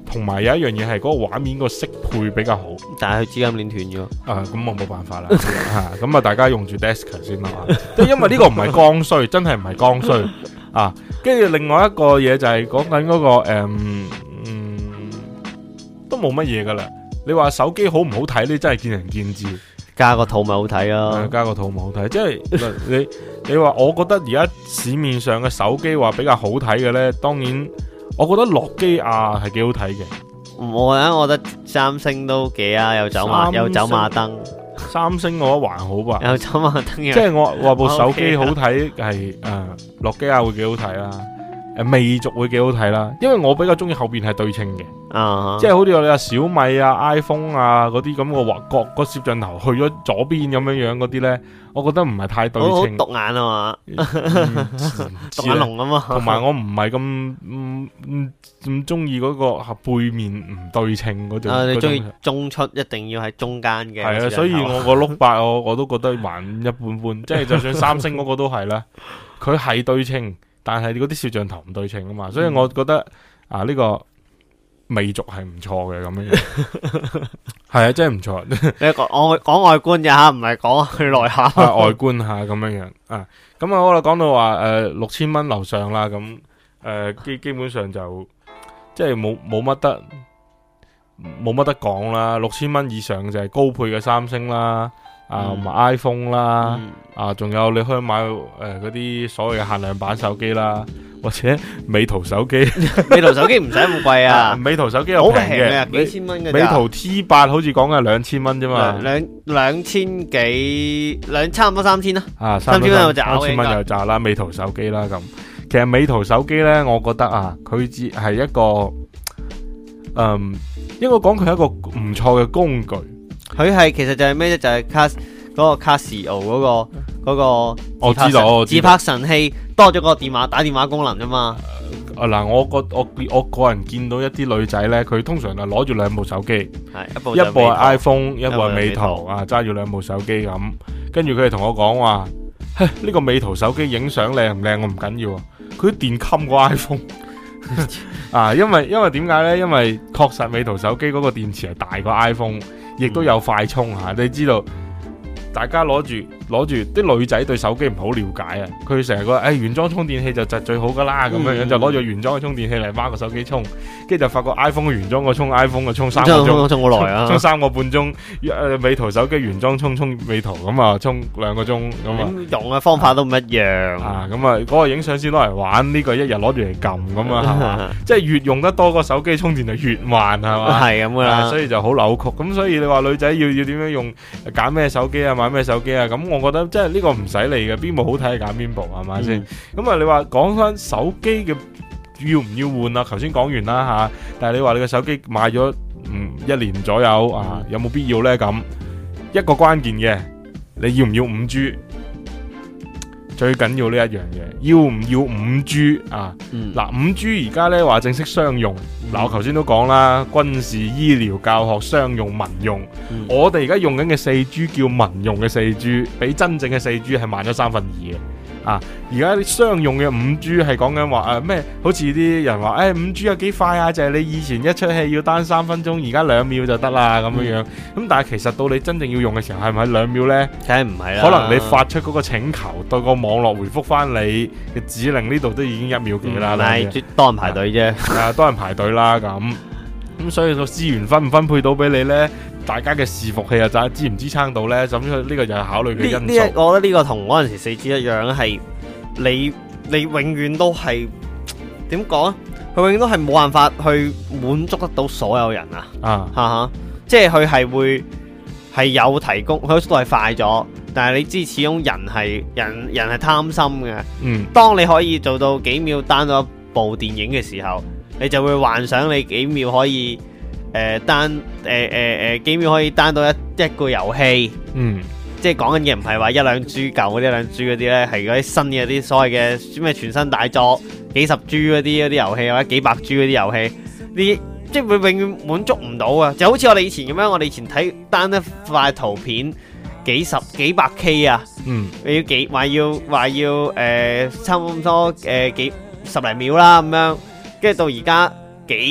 同埋有一樣嘢係嗰個畫面個色配比較好， 但係佢資金鏈斷咗。 啊，咁我冇辦法啦，嚇咁啊，大家用住 Desk 先啦，即係因為呢個唔係剛需，真係唔係剛需啊。跟住另外一個嘢就係講緊嗰個誒嗯，都冇乜嘢噶啦。你話手機好唔好睇呢？真係見仁見智。 加個套咪好睇啊， 加個套咪好睇，即係你你話，我覺得而家市面上嘅手機話比較好睇嘅呢，當然我覺得諾基亞係幾好睇嘅。 我咧，我覺得三星都幾啊，有走馬有走馬燈。 三星我覺得還好吧， 有走馬燈。 即係我話部手機好睇係誒諾基亞會幾好睇啦，誒魅族會幾好睇啦，因為我比較中意後邊係對稱嘅。 Uh-huh. 即係好似我哋話小米啊、iPhone 啊嗰啲咁個畫角個攝像頭去咗左邊咁樣樣嗰啲咧，我覺得唔係太對稱，好獨眼啊嘛，獨眼龍啊嘛。 同埋我唔係咁唔唔唔中意嗰個背面唔對稱嗰種。 啊，你中意中出一定要喺中間嘅。 係啊，所以我個碌八我我都覺得還一般般，即係就算三星嗰個都係啦，佢係對稱，但係嗰啲攝像頭唔對稱啊嘛，所以我覺得、嗯、啊呢、這個。魅族係唔錯嘅咁樣，係啊，真係唔錯。 你講我講外觀咋吓，唔係講佢內涵。 外觀下咁樣樣啊，咁啊，我哋講到話誒六千蚊樓上啦，咁誒基基本上就即係冇冇乜得冇乜得講啦。六千蚊以上就係高配嘅三星啦，啊，同埋、嗯、iPhone 啦，嗯、啊，仲有你可以買誒嗰啲所謂嘅限量版手機啦。或者美圖手機， 美圖手機唔使咁貴啊！ 美圖手機又平嘅， 幾千蚊嘅。 美圖 T 八好似講緊係兩千蚊啫嘛， 兩兩千幾，兩差唔多三千啦。 啊，三千蚊有炸，三千蚊有炸啦。美圖手機啦咁，其實美圖手機咧，我覺得啊，佢只係一個，嗯，應該講佢係一個唔錯嘅工具。 佢係其實就係咩啫？就係卡嗰個 Casio 嗰個。嗰、那個我知道，我知道自拍神器多咗個電話打電話功能啫嘛。 啊嗱，我個我我個人見到一啲女仔咧，佢通常係攞住兩部手機， 係一部一部係 iPhone， 一部係美圖啊，揸住兩部手機咁，跟住佢哋同我講話，呢、這個美圖手機影相靚唔靚我唔緊要啊，佢啲電襟過 iPhone 啊，因為因為點解咧？因為確實美圖手機嗰個電池係大過 iPhone， 亦都有快充吓、嗯，你知道。大家攞住攞住啲女仔對手機唔好了解啊！佢成日覺得誒原裝充電器就就最好噶啦，咁、嗯、樣樣就攞住原裝嘅充電器嚟孖個手機充，跟住就發覺 iPhone 原裝個充 iPhone 個充三個鐘，充好耐啊，充三個半鐘。誒美圖手機原裝充充美圖咁啊，充兩個鐘咁啊。 用嘅方法都唔一樣啊！咁啊，嗰、嗰個影相先攞嚟玩，呢、呢個一日攞住嚟撳咁啊，係嘛？即係越用得多個手機充電就越慢，係嘛？係咁噶啦，所以就好扭曲。咁所以你話女仔要要點樣用揀咩手機啊？買咩手機啊？咁我覺得即係呢個唔使理嘅，邊部好睇揀邊部係咪先？咁、嗯、啊，你話講翻手機嘅要唔要換啊？頭先講完啦吓，但係你話你個手機買咗嗯一年左右啊，有冇必要呢？咁一個關鍵嘅，你要唔要五 G？最緊要呢一樣嘢，要唔要五 G 啊？嗱、嗯，五 G 而家呢話正式商用，嗱、嗯、我頭先都講啦，軍事、醫療、教學、商用、民用，嗯、我哋而家用緊嘅四 G 叫民用嘅四 G， 比真正嘅四 G 係慢咗三分二嘅。啊！而家啲商用嘅五 G 係講緊話誒咩？好似啲人話誒五 G 有幾快啊？就係、是、你以前一出戲要單三分鐘，而家兩秒就得啦咁樣樣。咁、嗯、但係其實到你真正要用嘅時候，係咪兩秒呢？ 梗係唔係啦。可能你發出嗰個請求，對個網絡回覆翻你嘅指令，呢度都已經一秒幾啦。 係、嗯、多人排隊啫。 係啊，多人排隊啦咁。咁所以個資源分唔分配到俾你呢？大家嘅伺服器又就支唔支撐到呢？咁呢個就係考慮嘅因素。 呢呢，我覺得呢個同嗰陣時四 G 一樣，係你你永遠都係點講啊？佢永遠都係冇辦法去滿足得到所有人啊！啊哈哈，即係佢係會係有提供，佢速度係快咗，但係你知始終人係人人係貪心嘅。嗯，當你可以做到幾秒 down 到一部電影嘅時候，你就會幻想你幾秒可以。誒單誒誒誒幾秒可以單到一一個遊戲，嗯，即係講緊嘅唔係話一兩 G 舊嗰啲一兩 G 嗰啲咧，係嗰啲新嘅啲所謂嘅咩全新大作，幾十 G 嗰啲嗰啲遊戲或者幾百 G 嗰啲遊戲，呢即係會永遠滿足唔到啊！就好似我哋以前咁樣，我哋以前睇單一塊圖片幾十幾百 K 啊，嗯，要幾話要話要誒、呃、差唔多誒、呃、幾十零秒啦咁樣，跟住到而家幾。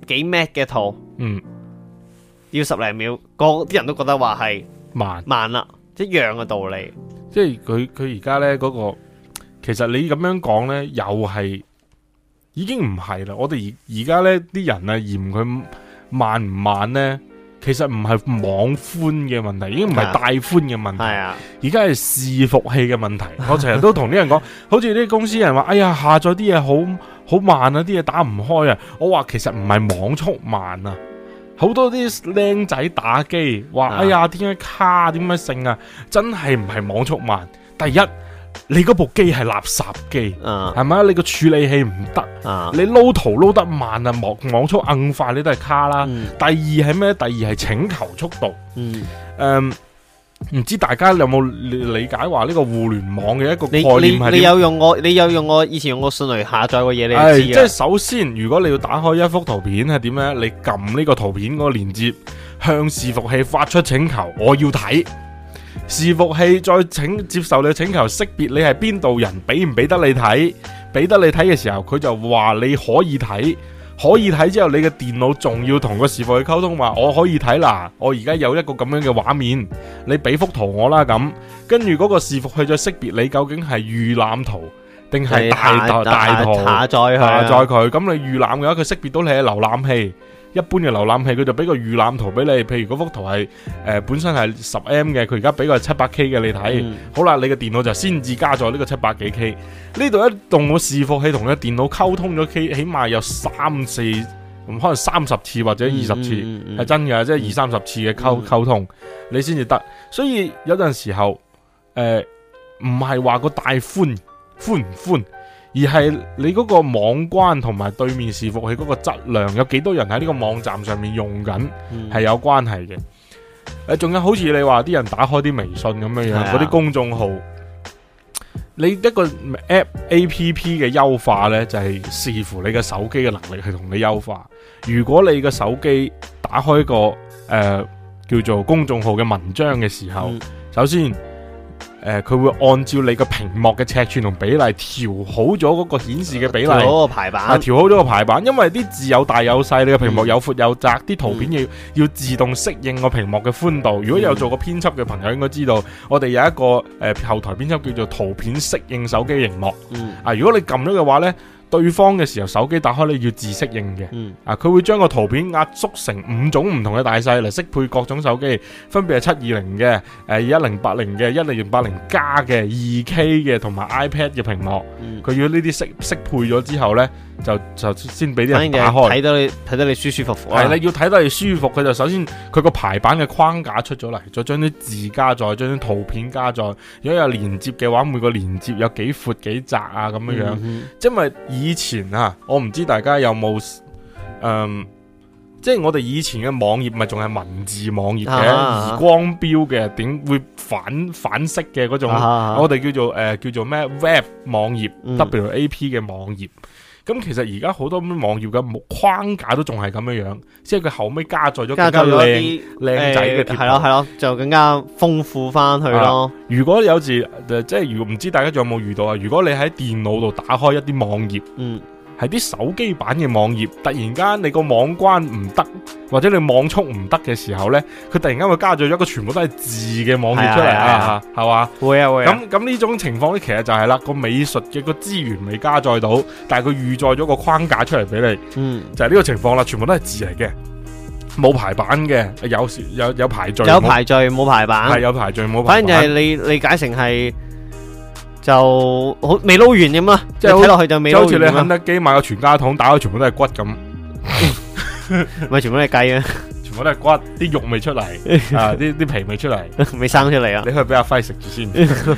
幾 mat 嘅圖， 嗯， 要十零秒，個啲人都覺得話係慢慢啦，一樣嘅道理。 即係佢佢而家咧嗰個，其實你咁樣講咧，又係已經唔係啦。我哋而而家咧啲人啊嫌佢慢唔慢咧，其實唔係網寬嘅問題，已經唔係帶寬嘅問題， 係啊， 而家係伺服器嘅問題。我成日都同啲人講，好似啲公司人話，哎呀下載啲嘢好好慢啊，啲嘢打唔開啊。我話其實唔係網速慢啊。好多啲靚仔打機話，哎呀，點解卡？點解剩啊？真係唔係網速慢。第一，你嗰部機係垃圾機，係咪啊？你個處理器唔得，你撈圖撈得慢啊，網網速硬快，你都係卡啦。 嗯、 第二係咩？第二係請求速度。 嗯， 誒，唔知大家有冇理解話呢個互聯網嘅一個概念係點？ 你有用我，你有用我以前用過迅雷下載過嘢，你就知嘅。即係首先，如果你要打開一幅圖片係點咧？你撳呢個圖片嗰個連接，向伺服器發出請求，我要睇。伺服器再請接受你嘅請求，識別你係邊度人，俾唔俾得你睇？俾得你睇嘅時候，佢就話你可以睇。可以睇之後，你嘅電腦仲要同個伺服器溝通，話我可以睇啦，我而家有一個咁樣嘅畫面，你俾幅圖我啦咁，跟住嗰個伺服器再識別你究竟係預覽圖定係大大大圖下載下載佢，咁你預覽嘅話，佢識別到你係瀏覽器。一般嘅瀏覽器佢就俾個預覽圖俾你，譬如嗰幅圖係誒、呃、本身係十 M 嘅，佢而家俾個七百 K 嘅你睇，嗯、好啦，你嘅電腦就先至加載呢個七百幾 K。呢度一動個伺服器同你嘅電腦溝通咗 K， 起碼有三四，可能三十次或者二十次，係、嗯嗯嗯、真嘅，即係二三十次嘅溝溝通，你先至得。所以有陣時候誒唔係話個帶寬寬唔寬。而係你嗰個網關同埋對面伺服器嗰個質量，有幾多人喺呢個網站上面用緊，係、嗯、有關係嘅。誒，仲有好似你話啲人打開啲微信咁樣樣，嗰啲、啊、公眾號，你一個 app A P P 嘅優化呢，就係、是、視乎你嘅手機嘅能力去同你優化。如果你嘅手機打開個誒、呃、叫做公眾號嘅文章嘅時候，嗯、首先。誒，佢、呃、會按照你個屏幕嘅尺寸同比例調好咗嗰個顯示嘅比例，調好個排版， 啊，調好咗個排版，因為啲字有大有細，你個屏幕有闊有窄，啲、嗯、圖片要、嗯、要自動適應個屏幕嘅寬度。如果有做過編輯嘅朋友應該知道，我哋有一個誒、呃、後台編輯叫做圖片適應手機螢幕。嗯、啊，如果你撳咗嘅話呢，對方嘅時候手機打開你要自適應嘅，嗯、啊，佢會將個圖片壓縮成五種唔同嘅大細嚟適配各種手機，分別係七二零嘅、誒一零八零嘅、一零八零加嘅、二 K 嘅同埋 iPad 嘅屏幕，佢、嗯、要呢啲適適配咗之後呢，就就先俾啲人打開， 睇到你睇到你舒舒服服。 係啦，要睇到你舒服，佢就首先佢個排版嘅框架出咗嚟，再將啲字加載，將啲圖片加載。如果有連接嘅話，每個連接有幾闊幾窄啊咁樣樣，嗯、因為以前啊，我唔知大家有冇誒、嗯，即係我哋以前嘅網頁咪仲係文字網頁嘅，而光標嘅，點會反反色嘅嗰種，啊啊我哋叫做誒、呃、叫做咩 web 網頁、嗯、W A P 嘅網頁。咁其實而家好多網頁嘅框架都仲係咁樣樣，即係佢後尾加載咗更加靚靚仔嘅貼圖， 係咯係咯，就更加豐富翻去咯。 如果有時即係如果唔知大家仲有冇遇到啊？如果你喺電腦度打開一啲網頁，嗯。係啲手機版嘅網頁，突然間你個網關唔得，或者你網速唔得嘅時候呢，佢突然間會加咗一個全部都係字嘅網頁出嚟啊，係嘛？會啊會啊。咁咁呢種情況呢，其實就係啦，個美術嘅個資源未加載到，但係佢預載咗個框架出嚟俾你，嗯，就係呢個情況啦，全部都係字嚟嘅，冇排版嘅，有有有排序， 有排序冇排版， 係有排序冇排版， 反正就係你理解成係。就好未撈完咁啦，即係睇落去就未撈完。就好似你肯德基買個全家桶，打開全部都係骨咁，咪全部都係雞啊！全部都係骨，啲肉未出嚟啊，啲啲皮未出嚟，未生出嚟啊！你可以俾阿輝食住先，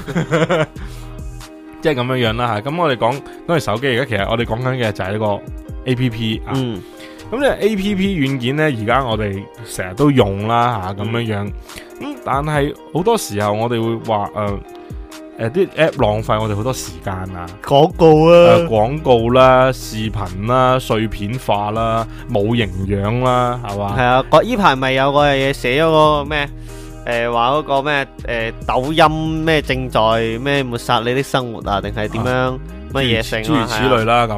即係咁樣樣啦吓。咁我哋講嗰係手機，而家其實我哋講緊嘅就係呢個 A P P 啊。咁呢 A P P 軟件咧，而家我哋成日都用啦吓，咁樣樣。咁但係好多時候我哋會話誒。誒，啲 app 浪費我哋好多時間啊！廣告啊，廣告啦，視頻啦，碎片化啦，冇營養啦，係嘛？係啊，呢排咪有個嘢寫咗個咩？誒，話嗰個咩？誒，抖音咩正在咩抹殺你的生活啊？定係點樣乜嘢性啊？諸如此類啦咁。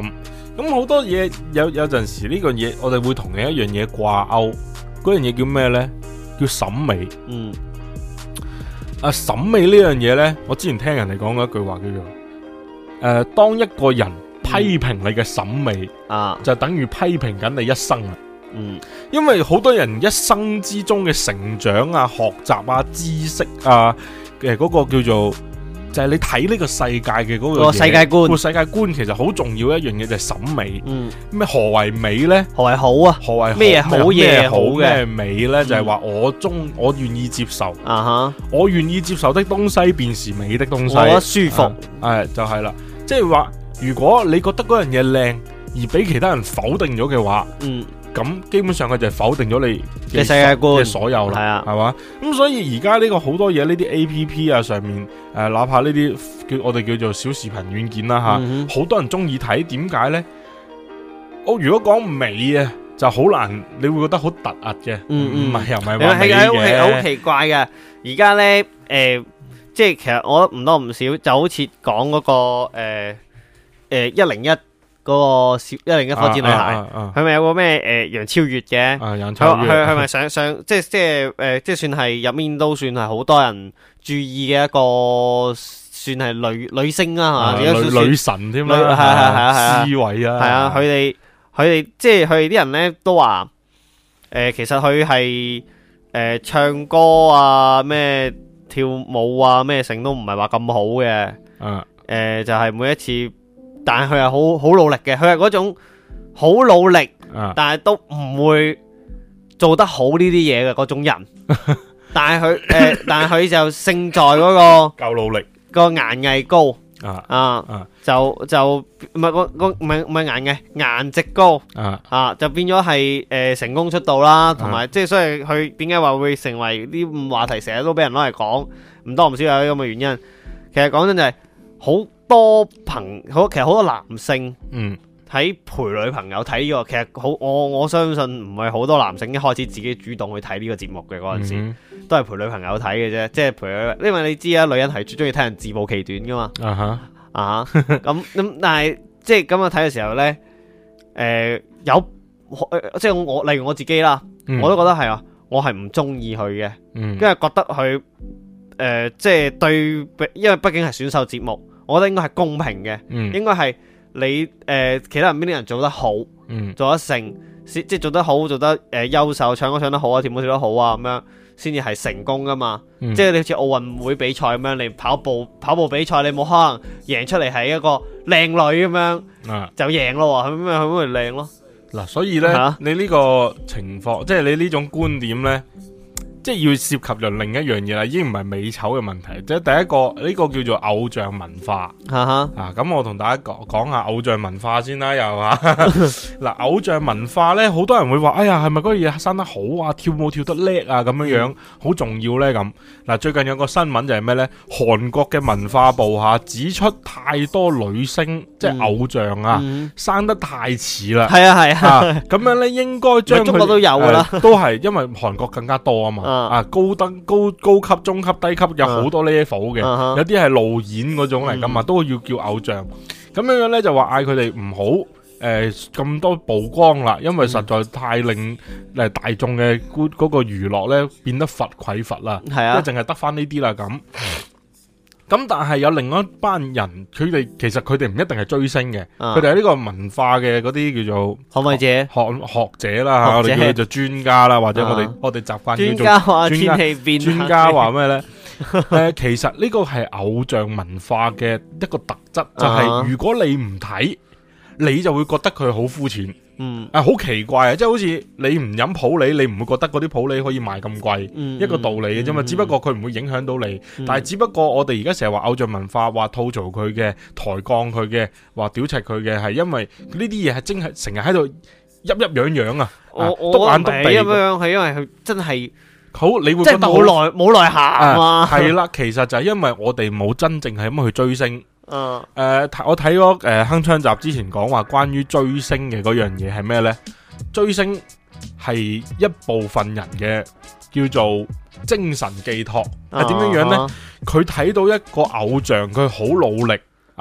咁好多嘢有有陣時呢個嘢，我哋會同另一樣嘢掛鈎，嗰樣嘢叫咩呢？叫審美。 嗯。 啊，審美呢樣嘢呢，我之前聽人哋講過一句話叫做，誒、呃，當一個人批評你嘅審美，啊，就等於批評緊你一生啊。 嗯， 因為好多人一生之中嘅成長啊、學習啊、知識啊，嘅嗰個叫做就係、是、你睇呢個世界嘅嗰個世界觀， 個世界觀其實好重要一樣嘢就係審美。 嗯， 咩何為美呢？ 何為好啊？ 何為咩好嘢好嘅？ 咩美呢？就係、是、話我中我願意接受啊哈， 我願意接受的東西便是美的東西， 我覺得舒服。 係、啊、就係、是、啦，即係話如果你覺得嗰樣嘢靚而俾其他人否定咗嘅話，嗯。咁基本上佢就係否定咗你嘅世界觀嘅所有啦，係啊，係嘛？咁所以而家呢個好多嘢，呢啲 A P P 啊上面誒、呃，哪怕呢啲叫我哋叫做小視頻軟件啦吓，好、嗯、多人中意睇，點解咧？我如果講美啊，就好難，你會覺得好突兀嘅，唔、嗯、係又唔係話美嘅， 好奇怪嘅。而家咧誒，即係其實我覺得唔多唔少，就好似講嗰個誒誒一零一。嗰、那個小一零一火箭女孩，佢、啊、咪、啊啊、有個咩誒楊超越嘅，佢佢佢咪上上即係即係誒、呃、即係算係入面都算係好多人注意嘅一個算係女女星啦、啊、吓、啊，女女神添啦，係係係啊，思維啊， 係啊，佢哋佢哋即係佢哋啲人咧都話誒、呃，其實佢係誒唱歌啊咩跳舞啊咩成都唔係話咁好嘅，誒、啊呃、就係、是、每一次。但係佢係好好努力嘅，佢係嗰種好努力，啊、但係都唔會做得好呢啲嘢嘅嗰種人。但係佢誒，但係佢就勝在嗰、那個夠努力， 個顏藝高啊啊， 啊， 就就唔係個個唔係唔係顏藝顏值高啊啊，就變咗係誒成功出道啦，同埋即係所以佢點解話會成為啲話題成日都俾人攞嚟講，唔多唔少有咁嘅原因。其實講真就係好。多朋好，其實好多男性嗯喺陪女朋友睇呢、這個，其實好我我相信唔係好多男性一開始自己主動去睇呢個節目嘅嗰陣時，嗯、都係陪女朋友睇嘅啫，即係陪佢，因為你知啊，女人係最中意睇人自暴其短噶嘛，啊哈啊咁咁，但係即係咁樣睇嘅時候咧，誒、呃、有即係我例如我自己啦、嗯，我都覺得係啊，我係唔中意佢嘅，因為覺得佢誒、呃、即係對，因為畢竟係選秀節目。我覺得應該係公平嘅、嗯，應該係你誒、呃、其他人邊啲人做得好，嗯、做得成，即係做得好，做得誒優、呃、秀，唱歌唱得好啊，跳舞跳得好啊，咁樣先至係成功噶嘛。嗯、即係你好似奧運會比賽咁樣，你跑步跑步比賽，你冇可能贏出嚟係一個靚女咁樣、啊，就贏咯，係咪？係咪靚咯？ 嗱，所以咧、啊，你呢個情況，即係你呢種觀點咧。即係要涉及咗另一樣嘢啦，已經唔係美醜嘅問題，即係第一個呢、呢個叫做偶像文化。啊哈啊，咁我同大家講講下偶像文化先啦，又吓嗱，偶像文化咧，好多人會話，哎呀，係咪嗰樣嘢生得好啊，跳舞跳得叻啊，咁樣樣好、嗯、重要咧咁。嗱，最近有個新聞就係咩咧？韓國嘅文化部吓指出，太多女星、嗯、即係偶像啊，嗯、生得太似啦。係啊係啊，咁、啊、樣咧應該將中國都有噶啦、 呃，都係因為韓國更加多啊嘛。啊，高登高高級、中級、低級有好多 level 嘅、啊，有啲係路演嗰種嚟噶嘛，都要叫偶像。咁樣樣咧就話嗌佢哋唔好誒咁多曝光啦，因為實在太令誒大眾嘅嗰嗰個娛樂咧變得乏匱乏啦，係啊，即係淨係得翻呢啲啦咁。咁但係有另外一班人，佢哋其實佢哋唔一定係追星嘅，佢哋係呢個文化嘅嗰啲叫做捍衛者、 學學者啦，我哋叫佢做專家啦，或者我哋、啊、我哋習慣叫做專家話天氣變， 專家話咩咧？誒，其實呢個係偶像文化嘅一個特質，就係、是、如果你唔睇，你就會覺得佢好膚淺。嗯，啊，好奇怪啊！即係好似你唔飲普洱，你唔會覺得嗰啲普洱可以賣咁貴、嗯，一個道理嘅啫嘛。只不過佢唔會影響到你，嗯、但係只不過我哋而家成日話偶像文化，話吐槽佢嘅、抬槓佢嘅、話屌柒佢嘅，係因為呢啲嘢係真係成日喺度噏噏樣樣啊！ 我篤眼篤鼻咁樣，係因為佢真係好，你會覺得冇內冇內涵啊！ 係啦，其實就係因為我哋冇真正係咁去追星。嗯，誒、呃，我睇咗誒鏗鏘集之前講話關於追星嘅嗰樣嘢係咩呢？追星係一部分人嘅叫做精神寄託，係點樣樣呢？佢睇到一個偶像，佢好努力啊，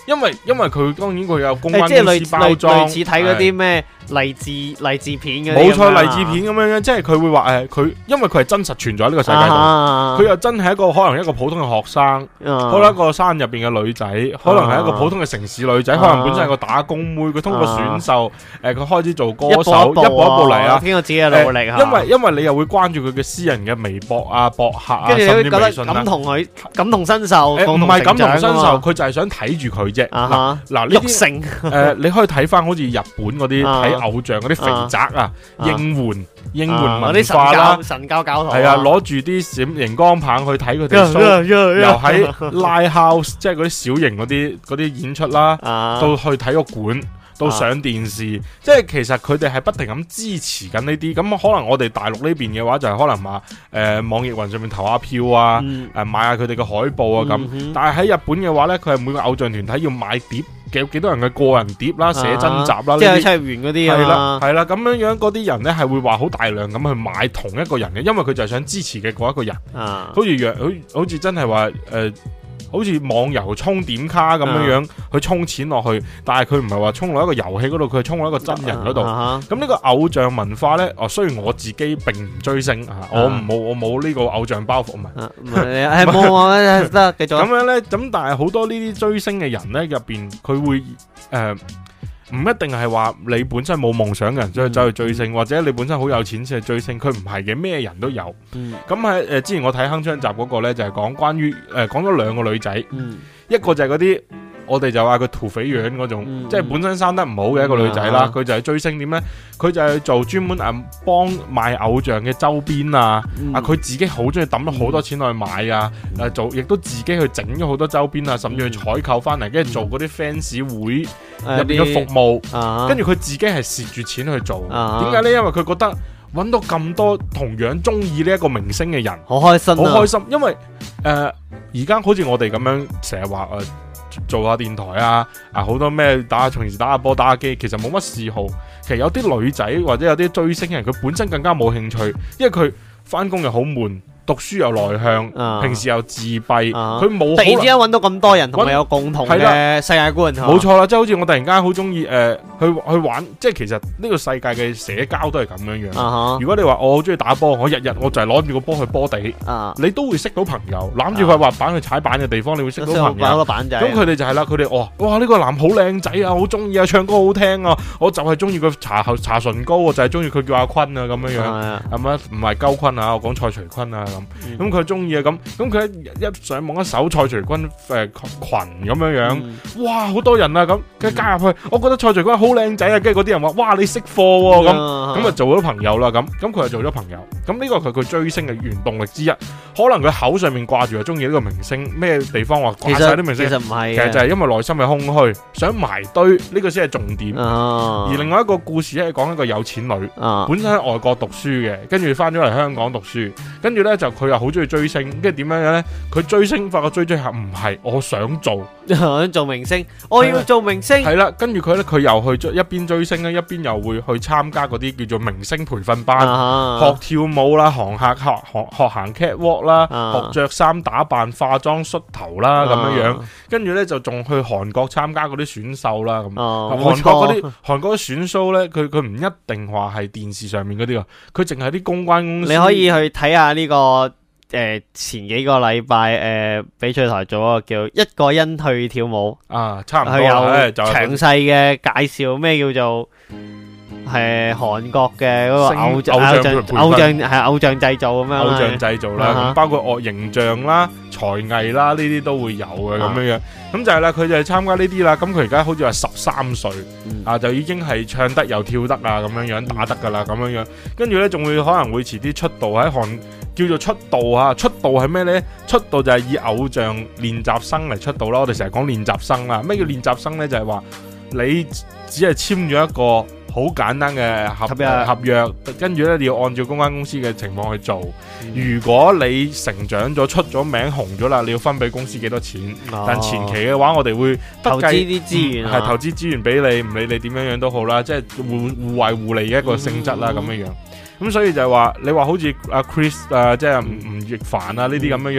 因為因為佢當然佢有公關即係公司包裝， 類似睇嗰啲咩勵志勵志片嘅， 冇錯勵志片咁樣樣，即係佢會話誒佢，因為佢係真實存在喺呢個世界度，佢、啊、又真係一個可能一個普通嘅學生，啊、可能一個山入邊嘅女仔，啊、可能係一個普通嘅城市女仔，啊、可能本身係個打工妹，佢通過選秀，誒、啊、佢、呃、開始做歌手，一步一步嚟啊， 經過自己嘅努力、呃、 因為因為你又會關注佢嘅私人嘅微博啊、博客啊， 跟住你會覺得甚至微信感同佢感同身受，唔係感同身受，佢就係想睇住佢啫。嗱嗱呢啲誒，你可以睇翻好似日本嗰啲睇偶像嗰啲肥宅啊，應援應援文化啦， 神教教徒係啊，攞住啲閃熒光棒去睇佢哋 show，又喺 live house 即係嗰啲小型嗰啲嗰啲演出啦，到去體育館。到上電視，啊、即係其實佢哋係不停咁支持緊呢啲，咁可能我哋大陸呢邊嘅話就係可能話誒、呃、網易雲上面投下票啊，誒、嗯呃、買下佢哋嘅海報啊咁，嗯、哼但係喺日本嘅話呢，佢係每個偶像團體要買碟，幾幾多人嘅個人碟啦、寫真集啦， 啊、些即係七月園嗰啲啊， 係啦係啦，咁樣樣嗰啲人呢係會話好大量咁去買同一個人嘅，因為佢就係想支持嘅嗰一個人，啊、好似若好好似真係話誒。呃好似網遊充點卡咁樣樣去充錢落去，但係佢唔係話充落一個遊戲嗰度，佢係充落一個真人嗰度。咁呢、uh huh. 個偶像文化呢，哦，雖然我自己並唔追星啊、uh huh.，我冇我冇呢個偶像包袱，唔係， 係冇啊，得繼續。 咁樣呢，咁但係好多呢啲追星嘅人呢，入邊佢會誒。呃唔一定係話你本身冇夢想嘅人所以走去追星，嗯、或者你本身好有錢先去追星，佢唔係嘅，咩人都有。咁喺誒之前我睇鏗鏘集嗰個呢，就係、是、講關於誒講咗兩個女仔，嗯、一個就係嗰啲我哋就話佢土匪樣嗰種，嗯、即係本身生得唔好嘅一個女仔啦，佢、嗯、就係追星點呢？佢就係做專門誒幫賣偶像嘅周邊啊，嗯、啊佢自己好中意抌咗好多錢去買啊，誒、嗯、做亦都自己去整咗好多周邊啊，甚至去採購翻嚟，跟住做嗰啲 fans 會入邊嘅服務，跟住佢自己係蝕住錢去做。點解呢？因為佢覺得揾到咁多同樣中意呢一個明星嘅人， 好開心， 好開心。因為誒而家好似我哋咁樣成日話誒做下電台啊，啊好多咩打下平時打下波打下機，其實冇乜嗜好。其實有啲女仔或者有啲追星嘅人，佢本身更加冇興趣，因為佢翻工又好悶。讀書又內向，啊、平時又自閉，佢冇、啊、突然之間揾到咁多人同佢有共同嘅世界觀， 冇錯啦，即係好似我突然間好中意誒去去玩，即係其實呢個世界嘅社交都係咁樣樣。啊、如果你話我好中意打波，我日日我就係攞住個波去波地，啊、你都會識到朋友，攬住塊滑板去踩板嘅地方，你會識到朋友。咁佢哋就係啦，佢哋哇哇呢、呢個男好靚仔啊，好中意啊，唱歌好聽啊，我就係中意佢搽搽唇膏，我就係中意佢叫阿坤啊咁樣樣，係咪？唔係鳩坤啊，我講蔡徐坤啊。咁佢中意啊，咁咁佢一上網一搜蔡徐坤誒群咁樣樣，嗯、哇好多人啊，咁佢加入去，我覺得蔡徐坤好靚仔啊，跟住嗰啲人話哇你識貨喎，咁咁啊做咗朋友啦，咁咁佢就做咗朋友，咁呢個係佢追星嘅原動力之一。可能佢口上面掛住係中意呢個明星，咩地方話掛晒啲明星， 其實唔係， 其實就係因為內心係空虛，想埋堆呢、這個先係重點。啊、而另外一個故事係講一個有錢女，啊、本身喺外國讀書嘅，跟住翻咗嚟香港讀書，跟住咧就佢又好中意追星，跟住點樣樣咧？佢追星發覺追追下唔係，我想做， 想做明星，我要做明星。 係啦，跟住佢咧，佢又去追一邊追星咧，一邊又會去參加嗰啲叫做明星培訓班，啊、學跳舞啦，行下學學學行 catwalk。啦，學着衫打扮、化妝、梳頭啦，咁樣樣，跟住咧就仲去韓國參加嗰啲選秀啦，咁韓國嗰啲韓國啲選秀咧，佢佢唔一定話係電視上面嗰啲啊，佢淨係啲公關公司。 你可以去睇下呢個誒前幾個禮拜誒翡翠台做一個叫一個人去跳舞啊，差唔多佢有詳細嘅介紹咩叫做。係韓國嘅嗰個偶像偶像偶像係偶像製造咁樣， 偶像製造啦，包括樂形象啦、才藝啦呢啲都會有嘅咁樣樣。咁就係啦，佢就係參加呢啲啦。咁佢而家好似話十三歲啊，就已經係唱得又跳得啊咁樣樣，打得噶啦咁樣樣。跟住咧仲會可能會遲啲出道喺韓，叫做出道啊。出道係咩咧？出道就係以偶像練習生嚟出道啦。我哋成日講練習生啦，咩叫練習生咧？就係話你只係簽咗一個好簡單嘅合約，合約，跟住咧你要按照公關公司嘅情況去做。嗯、如果你成長咗、出咗名、紅咗啦，你要分俾公司幾多錢？哦、但前期嘅話，我哋會投資啲資源， 係、嗯、投資資源俾你，唔理你點樣樣都好啦，即係互互惠互利嘅一個性質啦，咁樣、嗯、樣。咁所以就係話，你話好似阿 Chris 啊，即係吳吳亦凡啊呢啲咁樣樣，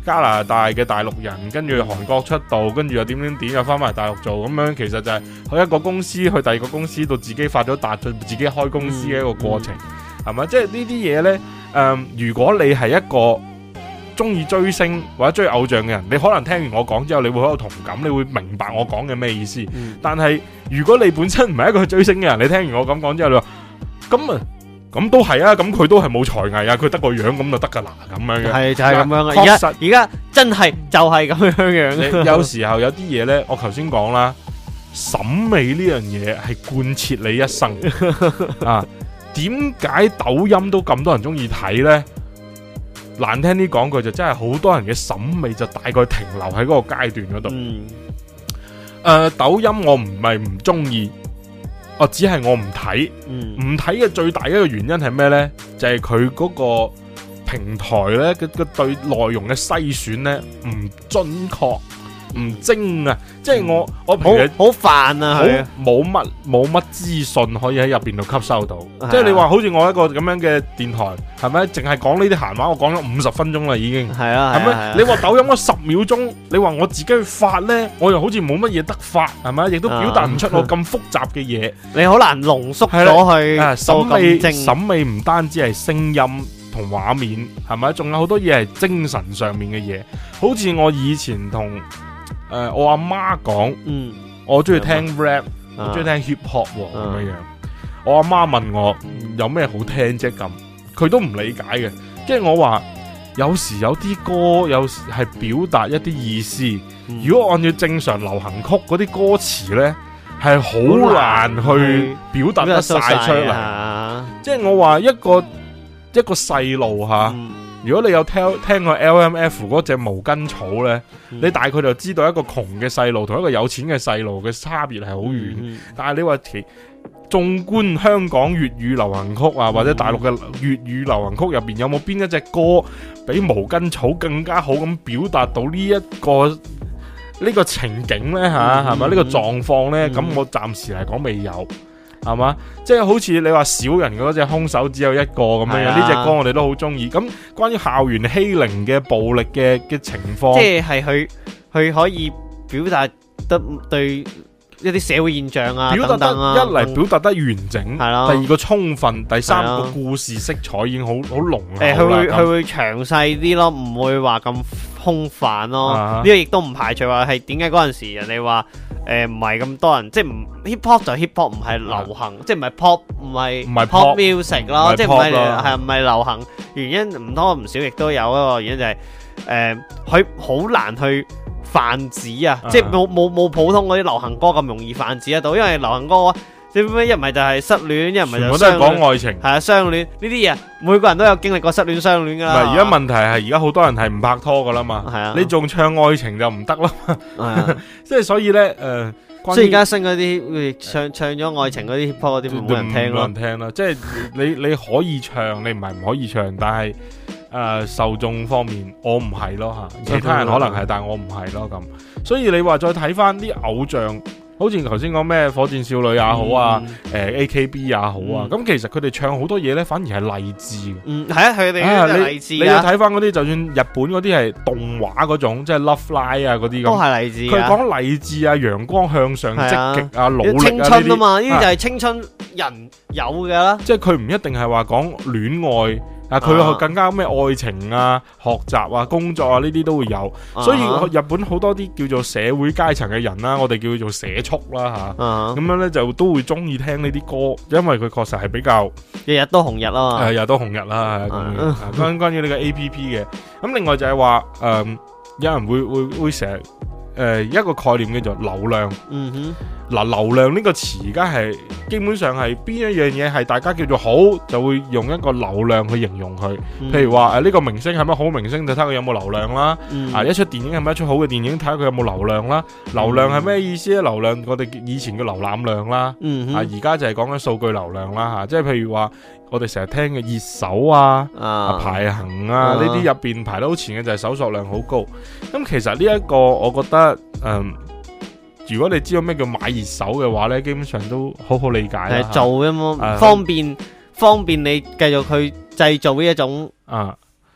加拿大嘅大陸人，跟住韓國出道，跟住又點點點又翻埋大陸做，咁樣其實就係去一個公司去第二個公司到自己發咗達，自己開公司嘅一個過程，係咪、嗯？即係呢啲嘢呢，誒、呃，如果你係一個中意追星或者追偶像嘅人，你可能聽完我講之後，你會好有同感，你會明白我講嘅咩意思。嗯、但係如果你本身唔係一個追星嘅人，你聽完我咁講之後，你話咁啊，咁都係啊，咁佢都係冇才藝啊，佢得個樣咁就得噶啦，咁樣嘅係就係咁樣啊。而家而家真係就係咁樣樣。 有時候有啲嘢呢，我頭先講啦，審美呢樣嘢係貫徹你一生啊。點解抖音都咁多人中意睇呢？難聽啲講句就真係好多人嘅審美就大概停留喺嗰個階段嗰度。嗯呃、抖音我唔係唔中意，我只係我唔睇。唔睇嘅最大一個原因係咩呢？就係佢嗰個平台呢，佢佢對內容嘅篩選呢唔準確。唔精啊！即係我我平時好煩啊，係冇乜冇乜資訊可以喺入邊度吸收到。即係你話好似我一個咁樣嘅電台，係咪？淨係講呢啲閒話，我講咗五十分鐘啦，已經係啊， 係咪？你話抖音嗰十秒鐘，你話我自己去發呢，我又好似冇乜嘢得發，係咪？亦都表達唔出我咁複雜嘅嘢， 你好難濃縮咗去。 審美審美唔單止係聲音同畫面，係咪？仲有好多嘢係精神上面嘅嘢，好似我以前同。誒、呃，我阿媽講，嗯，我中意聽 rap，、啊、我中意聽 hip hop 咁、啊、樣樣。我阿媽問我、嗯、有咩好聽啫咁，佢都唔理解嘅。即係我話，有時有啲歌，有時係表達一啲意思。嗯、如果按照正常流行曲嗰啲歌詞呢，係好難去表達得晒出嚟。啊、即係我話一個一個細路吓。嗯如果你有聽聽過 L M F 嗰隻毛巾草呢，嗯、你大概就知道一個窮嘅細路同一個有錢嘅細路嘅差別係好遠。嗯、但係你話其縱觀香港粵語流行曲啊，嗯、或者大陸嘅粵語流行曲入邊，有冇邊一隻歌比毛巾草更加好咁表達到呢、這、一個呢、這個情景呢？吓係咪呢個狀況呢？咁、嗯、我暫時嚟講未有。係嘛？即係好似你話小人嗰隻兇手只有一個咁樣，呢隻、啊、歌我哋都好中意。咁關於校園欺凌嘅暴力嘅嘅情況， 即係佢佢可以表達得對一啲社會現象啊， 表達得等等啊， 一嚟表達得完整，係咯、啊。第二個充分，第三個故事色彩已經好好濃厚啦。 誒，佢會佢會詳細啲咯，唔會話咁空泛咯。呢、啊、個亦都唔排除話係點解嗰陣時人哋話。誒，唔係咁多人，即係唔 hip hop 就 hip hop，唔係流行，即係唔係 pop，唔係唔係 pop music 咯，即係唔係係唔係流行？原因唔多唔少，亦都有一個原因就係誒，佢好難去泛指啊，即係冇冇冇普通嗰啲流行歌咁容易泛指得到，因為流行歌即係咩一唔係就係失戀，一唔係就全部都係講愛情，係啊，相戀呢啲嘢，每個人都有經歷過失戀、相戀噶啦。 唔係而家問題係而家好多人係唔拍拖噶啦嘛，係啊，你仲唱愛情就唔得啦嘛，係啊，即係所以咧誒， 即係而家新嗰啲唱唱咗愛情嗰啲 hip hop 嗰啲冇人聽咯， 冇人聽啦，即係你你可以唱，你唔係唔可以唱，但係誒受眾方面我唔係咯吓，其他人可能係，但係我唔係咯咁，所以你話再睇翻啲偶像。好似頭先講咩火箭少女也好啊，誒、嗯呃、A K B 也好啊，咁、嗯、其實佢哋唱好多嘢咧，反而係勵志嘅。嗯，係啊，佢哋係勵志。你要睇翻嗰啲，就算日本嗰啲係動畫嗰種，即係 Love Live 啊嗰啲咁，都係勵志。佢講勵志啊，陽光向上、積極啊、努力啊，青春啊嘛，呢啲就係青春人有嘅啦。即係佢唔一定係話講戀愛。啊！佢更加咩愛情啊、學習啊、工作啊呢啲都會有，啊、所以日本好多啲叫做社會階層嘅人啦，我哋叫做社畜啦吓，咁、啊、樣咧就都會中意聽呢啲歌，因為佢確實係比較日日都紅日啦，日日都紅日啦。咁關關於呢個 A P P 嘅，咁另外就係話誒，有人會會會成日誒一個概念叫做流量。嗯哼。嗱，流量呢個詞而家係基本上係邊一樣嘢係大家叫做好，就會用一個流量去形容佢。嗯、譬如話誒呢個明星係咪好明星，就睇下佢有冇流量啦。嗯、啊，一出電影係咪一出好嘅電影，睇下佢有冇流量啦。流量係咩意思咧？流量我哋以前嘅瀏覽量啦，嗯、哼啊而家就係講緊數據流量啦吓。即係譬如話我哋成日聽嘅熱搜啊、啊啊排行啊呢啲入邊排得好前嘅就係搜索量好高。咁其實呢一個我覺得嗯。如果你知道咩叫買熱搜嘅話呢，基本上都好好理解啦。係做嘅嘛，方便方便你繼續去製造呢一種啊。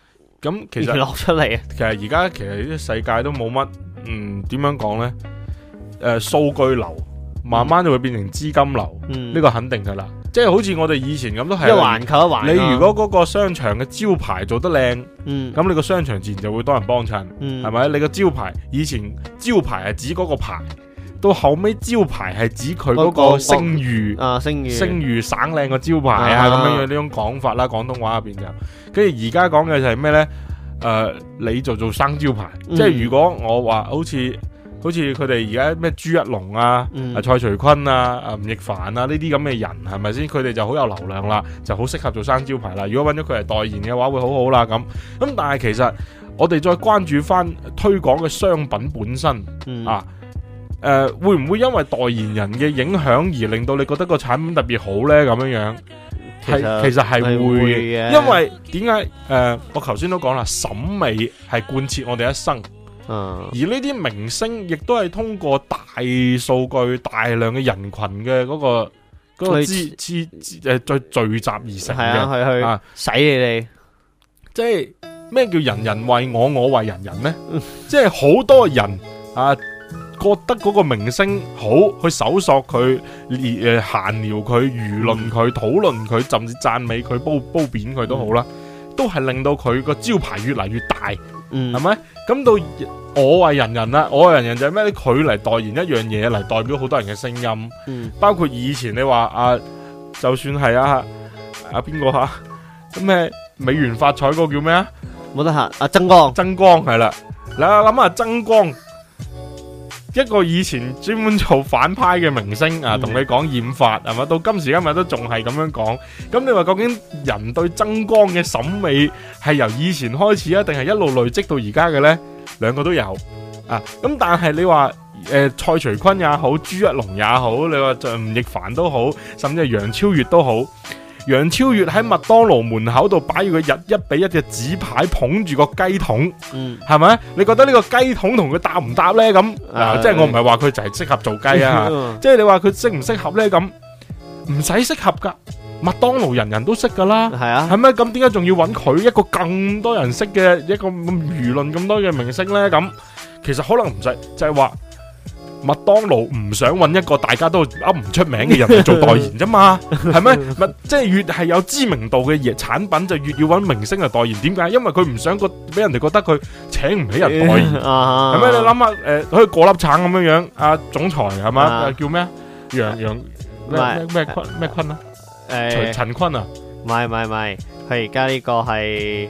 咁其實落出嚟啊。 其實而家其實呢個世界都冇乜，嗯，點樣講呢？誒、呃，數據流慢慢就會變成資金流，呢、 嗯、 個肯定噶啦。即係好似我哋以前咁都係一環扣一環。 你如果嗰個商場嘅招牌做得靚，咁、 嗯、 你個商場自然就會多人幫襯，係、嗯、咪？你個招牌以前招牌係指嗰個牌，到後尾招牌係指佢嗰個聲譽啊，聲譽聲譽省靚個招牌啊，咁樣樣呢種講法啦，廣東話入邊就。跟住而家講嘅就係咩呢？誒、呃，你就做生招牌，嗯、即係如果我話好似。好似佢哋而家咩朱一龍啊、嗯、啊蔡徐坤啊、啊吳亦凡啊呢啲咁嘅人係咪先？佢哋就好有流量啦，就好適合做生招牌啦。如果揾咗佢嚟代言嘅話，會好好啦咁。咁但係其實我哋再關注翻推廣嘅商品本身、嗯、啊，誒、呃、會唔會因為代言人嘅影響而令到你覺得個產品特別好呢？咁樣樣係其實係會嘅，因為點解誒？我頭先都講啦，審美係貫徹我哋一生。 嗯、 而呢啲明星亦都係通過大數據、大量嘅人群嘅嗰、嗰個嗰、嗰個資資誒再聚集而成嘅， 係啊，去去使你哋。 即係咩叫人人為我，我為人人呢？即係好多人啊，覺得嗰個明星好，去搜索佢，誒閒聊佢、輿論佢、討論佢，甚至讚美佢、褒褒貶佢都好啦，嗯、都係令到佢個招牌越嚟越大。嗯，係咪？咁到我為人人啦，我為人人就係咩咧？佢嚟代言一樣嘢，嚟代表好多人嘅聲音。嗯，包括以前你話啊，就算係啊啊邊個吓咁咩美元發彩嗰個叫咩啊？ 冇得吓，阿曾光， 曾光係啦。你諗下曾光，一個以前專門做反派嘅明星啊，同你講染髮係嘛，到今時今日都仲係咁樣講。咁你話究竟人對曾光嘅審美係由以前開始啊，定係一路累積到而家嘅呢？兩個都有啊。咁但係你話誒、呃、蔡徐坤也好，朱一龍也好，你話就吳亦凡都好，甚至係楊超越都好。楊超越喺麥當勞門口度擺住個日一比一嘅紙牌，捧住個雞桶，嗯，係咪？你覺得呢個雞桶同佢搭唔搭呢？咁、呃、啊，即係我唔係話佢就係適合做雞啊，即係你話佢適唔適合呢？咁唔使適合噶，麥當勞人人都識噶啦，係啊，係咪？咁點解仲要揾佢一個更多人識嘅一個輿論咁多嘅明星呢？咁其實可能唔使，就係話麥當勞唔想揾一個大家都噏唔出名嘅人嚟做代言啫嘛，係咪？咪即係越係有知名度嘅嘢產品，就越要揾明星嚟代言。點解？因為佢唔想個俾人哋覺得佢請唔起人代言，係咪？你諗下，誒，好似過粒橙咁樣樣，阿總裁係嘛？叫咩？楊楊咩咩坤咩坤啊？誒，陳坤啊？ 唔係唔係唔係，佢而家呢個係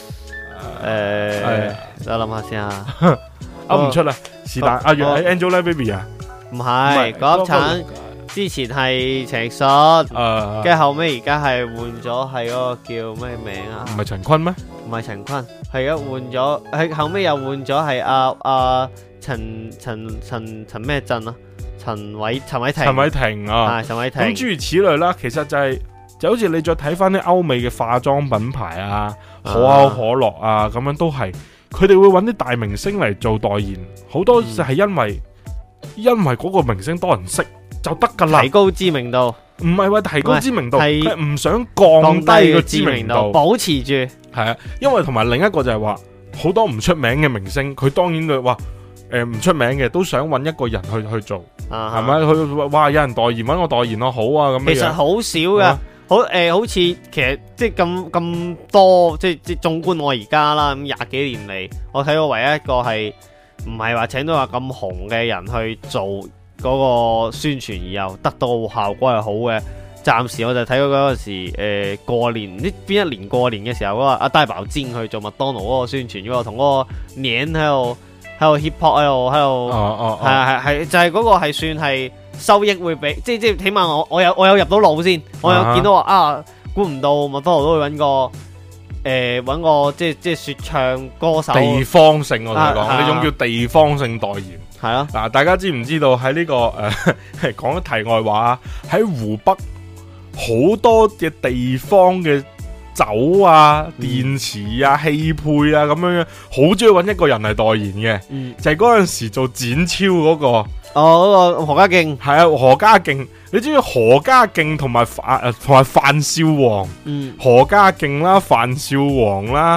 誒，我諗下先啊。 噏唔出啦，是但阿楊係 Angelababy 啊？ 唔係，嗰粒橙之前係陳奕迅，跟住後尾而家係換咗係嗰個叫咩名啊？ 唔係陳坤咩？ 唔係陳坤，係而家換咗，喺後尾又換咗係阿阿陳陳陳陳咩鎮啊？陳偉陳偉霆。陳偉霆啊，係陳偉霆。咁諸如此類啦，其實就係就好似你再睇翻啲歐美嘅化妝品牌啊，可口可樂啊，咁樣都係。佢哋會揾啲大明星嚟做代言，好多就係因為、嗯、因為嗰個明星多人識就得噶啦，提高知名度，唔係話提高知名度，係唔想降低個知名度，保持住。係啊，因為同埋另一個就係話好多唔出名嘅明星，佢當然佢話誒唔出名嘅都想揾一個人去去做，係咪？佢哇有人代言揾我代言咯，好啊咁樣。其實好少噶。啊好誒、呃，好似其實即係咁咁多，即係即係縱觀我而家啦，咁廿幾年嚟，我睇過唯一一個係唔係話請到話咁紅嘅人去做嗰個宣傳，而又得到效果係好嘅。暫時我就睇過嗰陣時，誒、呃、過年呢邊一年過年嘅時候，嗰、那個阿大寶尖去做麥當勞嗰個宣傳，嗰個同嗰個年喺度喺度 hip hop 喺度喺度，係係係就係、是、嗰個係算係。收益會比即係即係起碼我我有我有入到腦先，我有見到話啊，估唔到麥當勞都會揾個誒揾個即係即係說唱歌手，地方性我同你講呢種叫地方性代言係咯。嗱，大家知唔知道喺呢、這個誒講咗題外話，喺湖北好多嘅地方嘅酒啊、嗯、電池啊、汽配啊咁樣樣，好中意揾一個人嚟代言嘅、嗯，就係嗰陣時做展超嗰、那個。哦，嗰個何家勁係啊，何家勁，你知唔知何家勁同埋誒同埋范少皇？嗯，何家勁啦，范少皇啦，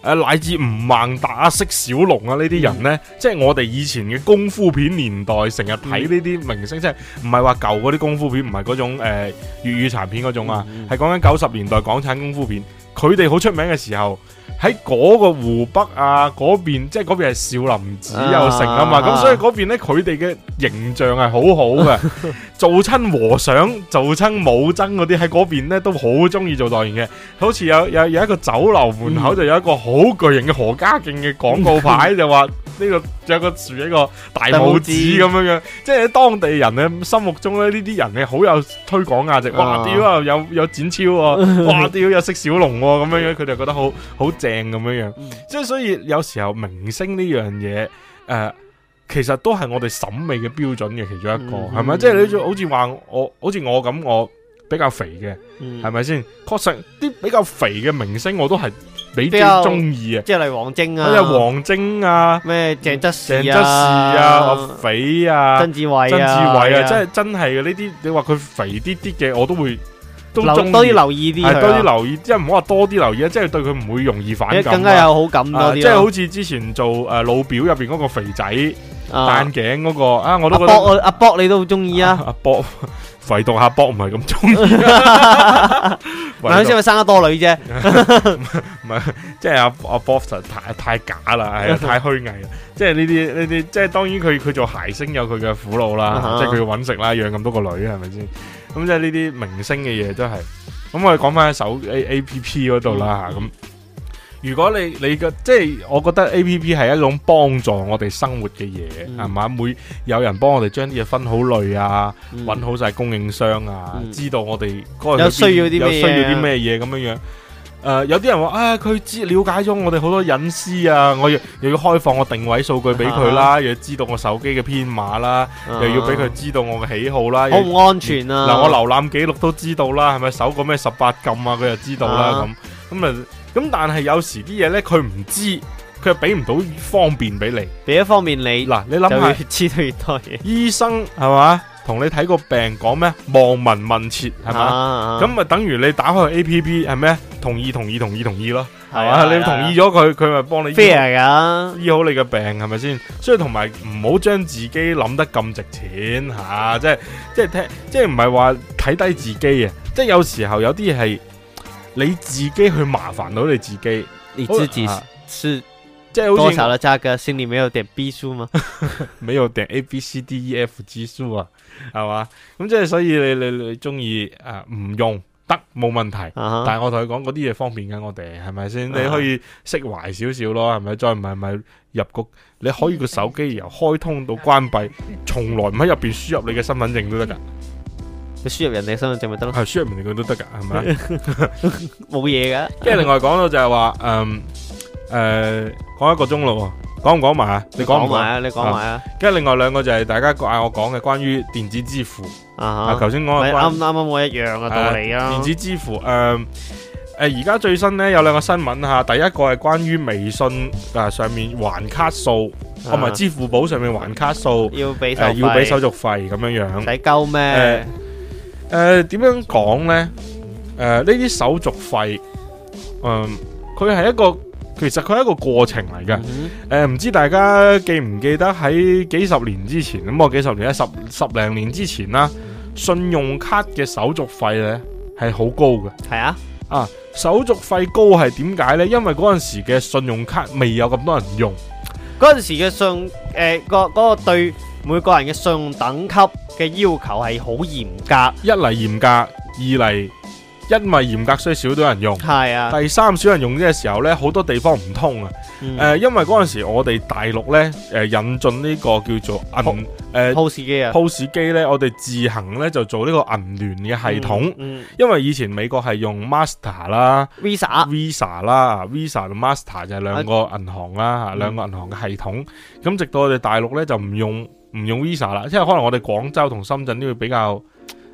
誒乃至吳孟達啊、釋小龍啊呢啲人呢，嗯、即係我哋以前嘅功夫片年代成日睇呢啲明星，嗯、即係唔係話舊嗰啲功夫片，唔係嗰種誒粵語殘片嗰種啊，係講緊九十年代港產功夫片，佢哋好出名嘅時候。喺嗰個湖北啊嗰邊，即係嗰邊係少林寺又成啊嘛，咁、啊、所以嗰邊咧佢哋嘅形象係好好嘅，做親和尚、做親武僧嗰啲喺嗰邊咧都好中意做代言嘅，好似有有有一個酒樓門口就有一個好巨型嘅何家勁嘅廣告牌，就話呢、這個有個豎一個大拇指咁樣樣，即係喺當地人嘅心目中咧呢啲人係好有推廣價值，哇屌啊有有展超喎，哇屌有釋小龍喎咁樣樣，佢哋覺得好好正。咁樣樣，即係所以有時候明星呢樣嘢，誒、呃，其實都係我哋審美嘅標準嘅其中一個，係咪、嗯？即係你好似話我，好似我咁，我比較肥嘅，係咪先？確實啲比較肥嘅明星，我都係比較中意啊， 即係例如王晶啊， 即係王晶啊， 咩鄭則仕啊， 鄭則仕啊，我肥啊， 曾志偉啊， 曾志偉啊，即係真係嘅呢啲，你話佢肥啲啲嘅，我都會。都多啲留意啲， 係多啲留意，即係唔好話多啲留意啊！即係對佢唔會容易反感， 更加有好感多啲、啊。 即係好似之前做誒、呃、老表入邊嗰個肥仔戴眼鏡嗰個啊，我都覺得阿博阿博你都好中意啊！ 阿博肥到阿博唔係咁中意， 唔係先佢生得多女啫， 唔係即係阿阿博實太太假啦，係太虛偽啦！即係呢啲呢啲，即係當然佢佢做諧星有佢嘅苦惱啦，即係佢要搵食啦，養咁多個女係咪先？咁即係呢啲明星嘅嘢都係，咁我哋講翻喺手 A A P P 嗰度啦吓，咁、嗯、如果你你嘅即係，我覺得 A P P 係一種幫助我哋生活嘅嘢，係嘛、嗯？每有人幫我哋將啲嘢分好類啊，搵、嗯、好晒供應商啊，嗯、知道我哋嗰日有需要啲咩、啊、 有需要啲咩嘢咁樣樣。誒、呃，有啲人話啊，佢知了解咗我哋好多隱私啊，我又又要開放我定位數據俾佢啦，又要知道我手機嘅編碼啦，啊、又要俾佢知道我嘅喜好啦， 好唔安全啊！ 嗱、嗯，我瀏覽記錄都知道啦，係咪搜個咩十八禁啊？佢又知道啦，咁咁啊，咁但係有時啲嘢咧，佢唔知，佢又俾唔到方便俾你， 俾一方便你。嗱，你諗下，越知道越多嘢。醫生係嘛？同你睇個病講咩？望聞問切係嘛？咁咪、啊、等於你打開 A P P 係咩？同意同意同意同意咯，係嘛？啊、你同意咗佢，佢咪幫你 fair 噶， 醫好你嘅病係咪先？所以同埋唔好將自己諗得咁值錢吓、啊，即係即係聽，即係唔係話睇低自己啊！即係有時候有啲嘢係你自己去麻煩到你自己， 你自己是。即係多少的價格，心裏沒有點 B 數嗎？ 沒有點 A B C D E F G 數啊，係嘛？咁即係所以你你你中意誒唔用得冇問題，uh-huh. 但係我同佢講嗰啲嘢方便緊我哋，係咪先？Uh-huh. 你可以釋懷少少咯，係咪？再唔係咪入局？你可以個手機由開通到關閉，從來唔喺入邊輸入你嘅身份證都得噶。 你輸入人哋身份證咪得咯？ 係輸入人哋佢都得噶，係咪？ 冇嘢噶。跟住另外講到就係話，嗯。誒、呃，講一個鐘咯，講唔講埋啊？你講埋啊，你講埋啊。跟住另外兩個就係大家嗌我講嘅關於電子支付啊。頭先講嘅啱啱啱我一樣嘅道理啊。 電子支付誒誒，而、呃、家最新咧有兩個新聞吓，第一個係關於微信啊上面還卡數，同埋、啊、支付寶上面還卡數要俾手、呃、 要俾手續費咁樣樣。 使鳩咩？ 誒、呃，點、呃、樣講咧？誒、呃，呢啲手續費，嗯、呃，佢係一個。其實佢係一個過程嚟嘅，誒、嗯，唔、呃、知大家記唔記得喺幾十年之前，咁我幾十年咧十十零年之前啦，信用卡嘅手續費咧係好高嘅。 係啊， 啊，手續費高係點解呢？因為嗰陣時嘅信用卡未有咁多人用， 嗰陣時嘅信誒、呃那個嗰、那個對每個人嘅信用等級嘅要求係好嚴格， 一嚟嚴格，二嚟。因為嚴格，所以少多人用。 係啊。 第三，少人用嘅時候咧，好多地方唔通啊。誒、嗯呃，因為嗰陣時我哋大陸咧，誒、呃、引進呢個叫做銀誒 P O S 機啊 P O S 機咧，我哋自行咧就做呢個銀聯嘅系統。嗯嗯、因為以前美國係用 Master 啦 Visa Visa 啦 Visa 同 Master 就係兩個銀行啦吓，兩、嗯、個銀行嘅系統。咁直到我哋大陸咧就唔用唔用 Visa 啦，因為可能我哋廣州同深圳都會比較。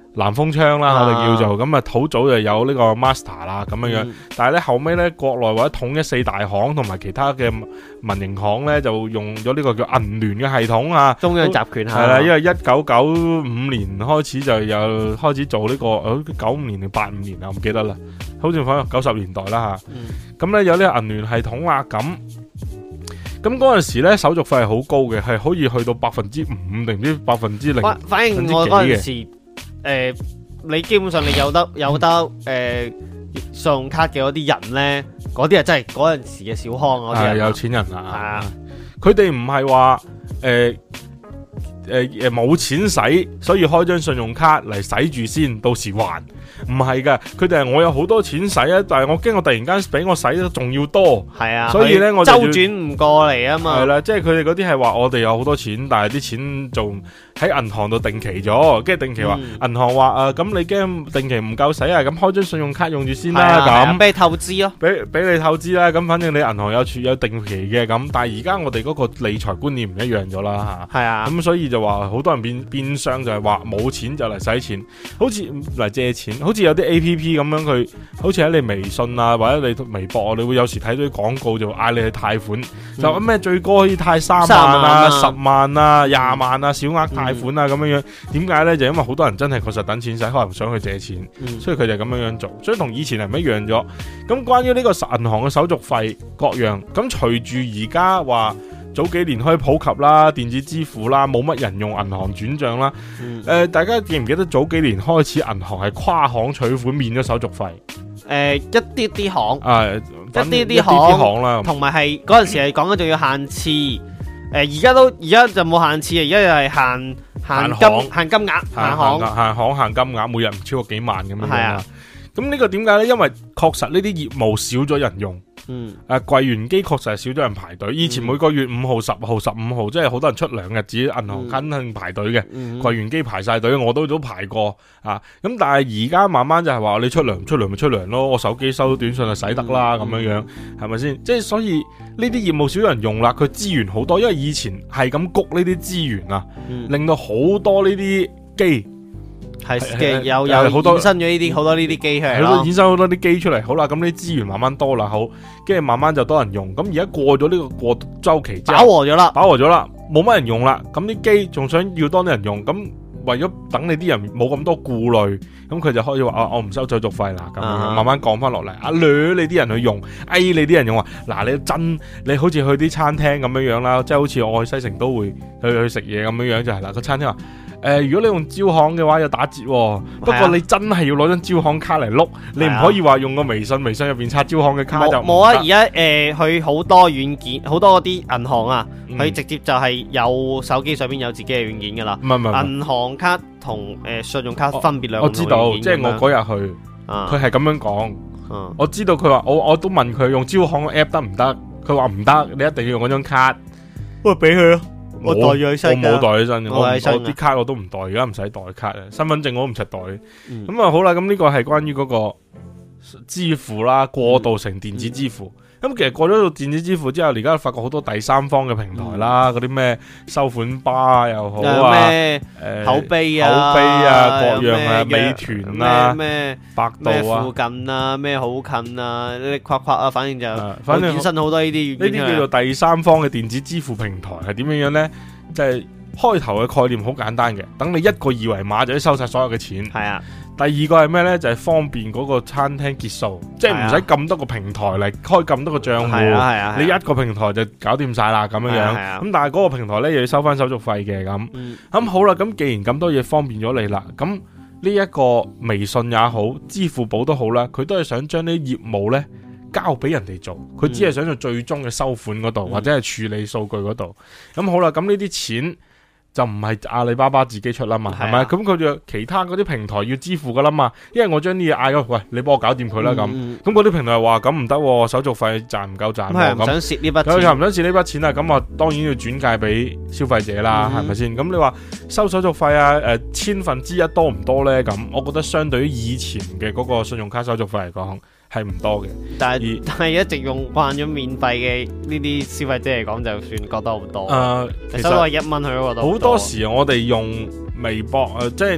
南風窗啦， 啊我哋叫做咁啊，好早就有呢個 Master 啦咁樣樣， 嗯但係咧後尾咧國內或者統一四大行同埋其他嘅民營行咧就用咗呢個叫銀聯嘅系統啊， 中央集權下係啦，因為一九九五年開始就有開始做呢、個，好九五年定八五年啊，我唔記得啦，好似反正九十年代啦吓，咁咧、 嗯、 有呢個銀聯系統啦，咁咁嗰陣時咧手續費係好高嘅，係可以去到百分之五定唔知百分之零， 反反正我嗰陣時，誒、呃，你基本上你有得有得誒、呃、信用卡嘅嗰啲人咧，嗰啲係真係嗰陣時嘅小康嗰啲人， 有錢人啊， 係啊， 佢哋唔係話誒誒誒冇錢使，所以開張信用卡嚟使住先，到時還。唔係噶，佢哋係我有好多錢使啊，但係我驚我突然間俾我使得仲要多， 係啊， 所以咧我就周轉唔過嚟啊嘛。 係啦，即係佢哋嗰啲係話我哋有好多錢，但係啲錢仲喺銀行度定期咗，跟住定期話銀行話誒，咁你驚定期唔夠使啊，咁開張信用卡用住先啦，咁俾你透支咯， 俾俾你透支啦，咁反正你銀行有儲有定期嘅咁，但係而家我哋嗰個理財觀念唔一樣咗啦吓， 係啊， 咁所以就話好多人變變相就係話冇錢就嚟使錢，好似嚟借錢，好似有啲 A P P 咁樣，佢好似喺你微信啊或者你微博，你會有時睇到啲廣告就嗌你去貸款，嗯、就咩最高可以貸三萬啊、十萬啊、廿萬啊小額貸款啊咁樣樣，點解呢？就因為好多人真係確實等錢使，可能想去借錢，嗯、所以佢就咁樣樣做，所以同以前係唔一樣咗。咁關於呢個銀行嘅手續費各樣，咁隨住而家話早幾年開始普及啦，電子支付啦，冇乜人用銀行轉賬啦。誒、嗯呃，大家記唔記得早幾年開始銀行係跨行取款免咗手續費？誒、 呃，一啲啲行， 啊， 一啲啲行啦，同埋係嗰陣時係講緊仲要限次。誒、呃，而家都而家就冇限次，而家又係限限金限金額，限行限行限金額，每日唔超過幾萬咁樣。 係啊， 咁呢個點解呢？因為確實呢啲業務少咗人用。嗯，誒，櫃員機確實係少咗人排隊。以前每個月五號、十號、十五號，即係好多人出糧日子，銀行肯定排隊嘅。櫃員機排晒隊，我都都排過啊。咁但係而家慢慢就係話，你出糧出糧咪出糧咯，我手機收到短信就使得啦，咁樣樣係咪先？即係所以呢啲業務少人用啦，佢資源好多，因為以前係咁谷呢啲資源啊，嗯、令到好多呢啲機。 係嘅，有有好多衍生咗呢啲好多呢啲機出嚟咯， 衍生好多啲機出嚟，好啦，咁啲資源慢慢多啦，好，跟住慢慢就多人用，咁而家過咗呢個過周期之後， 飽和咗啦， 飽和咗啦，冇乜人用啦，咁啲機仲想要多啲人用，咁為咗等你啲人冇咁多顧慮，咁佢就可以話啊，我唔收手續費啦，咁樣、啊、慢慢降翻落嚟，啊，掠你啲人去用，哎，你啲人用話，嗱，你真你好似去啲餐廳咁樣樣啦，即係好似我去西城都會去去食嘢咁樣樣就係啦，個餐廳話。誒、呃，如果你用招行嘅話有打折、哦，不過你真係要攞張招行卡嚟碌，你唔可以話用個微信，微信入邊刷招行嘅卡就冇啊！而家誒，佢好多軟件，好多嗰啲銀行啊，佢、嗯、直接就係有手機上邊有自己嘅軟件噶啦。唔係唔係，銀行卡同誒、呃、信用卡分別兩個。我知道， 即係我嗰日去，佢係咁樣講、啊。我知道佢話，我我都問佢用招行 app 得唔得？佢話唔得，你一定要用嗰張卡。不過俾佢咯。我袋咗起身，我冇袋起身，我我啲卡我都唔袋，而家唔使袋卡啊，身份證我都唔使袋。咁、嗯、啊好啦，咁呢個係關於嗰個支付啦，過渡成電子支付。咁、嗯嗯、其實過咗到電子支付之後，而家發覺好多第三方嘅平台啦，嗰啲咩收款巴又好啊，咩誒口碑啊， 口碑啊，各樣啊，美團啊， 咩百度啊， 附近啊，咩好近啊，你夸夸啊，反正就反正衍生好多呢啲， 呢啲叫做第三方嘅電子支付平台係點樣樣咧？即係開頭嘅概念好簡單嘅，等你一個二維碼就可以收晒所有嘅錢。係啊。第二個係咩呢？就係、是、方便嗰個餐廳結數，即係唔使咁多個平台嚟開咁多個賬戶。係啊係啊，你一個平台就搞掂晒啦咁樣樣。咁但係嗰個平台呢，又要收翻手續費嘅咁。咁、嗯、好啦，咁既然咁多嘢方便咗你啦，咁呢一個微信也好，支付寶都好啦，佢都係想將啲業務呢交俾人哋做，佢只係想做最終嘅收款嗰度、嗯、或者係處理數據嗰度。咁好啦，咁呢啲錢就唔係阿里巴巴自己出啦嘛，係咪？咁佢就其他嗰啲平台要支付噶啦嘛，因為我將啲嘢嗌咗，喂，你幫我搞掂佢啦咁。咁嗰啲平台話咁唔得，手續費賺唔夠賺。 咁唔想蝕呢筆錢， 佢又唔想蝕呢筆錢啊！咁啊，當然要轉介俾消費者啦，係咪先？咁你話收手續費啊？誒、呃，千分之一多唔多咧？咁我覺得相對於以前嘅嗰個信用卡手續費嚟講，係唔多嘅，但係但係一直用慣咗免費嘅呢啲消費者嚟講，就算覺得好多。誒、呃，其實收落一蚊佢都覺得好多。 好多時我哋用微博誒、呃，即係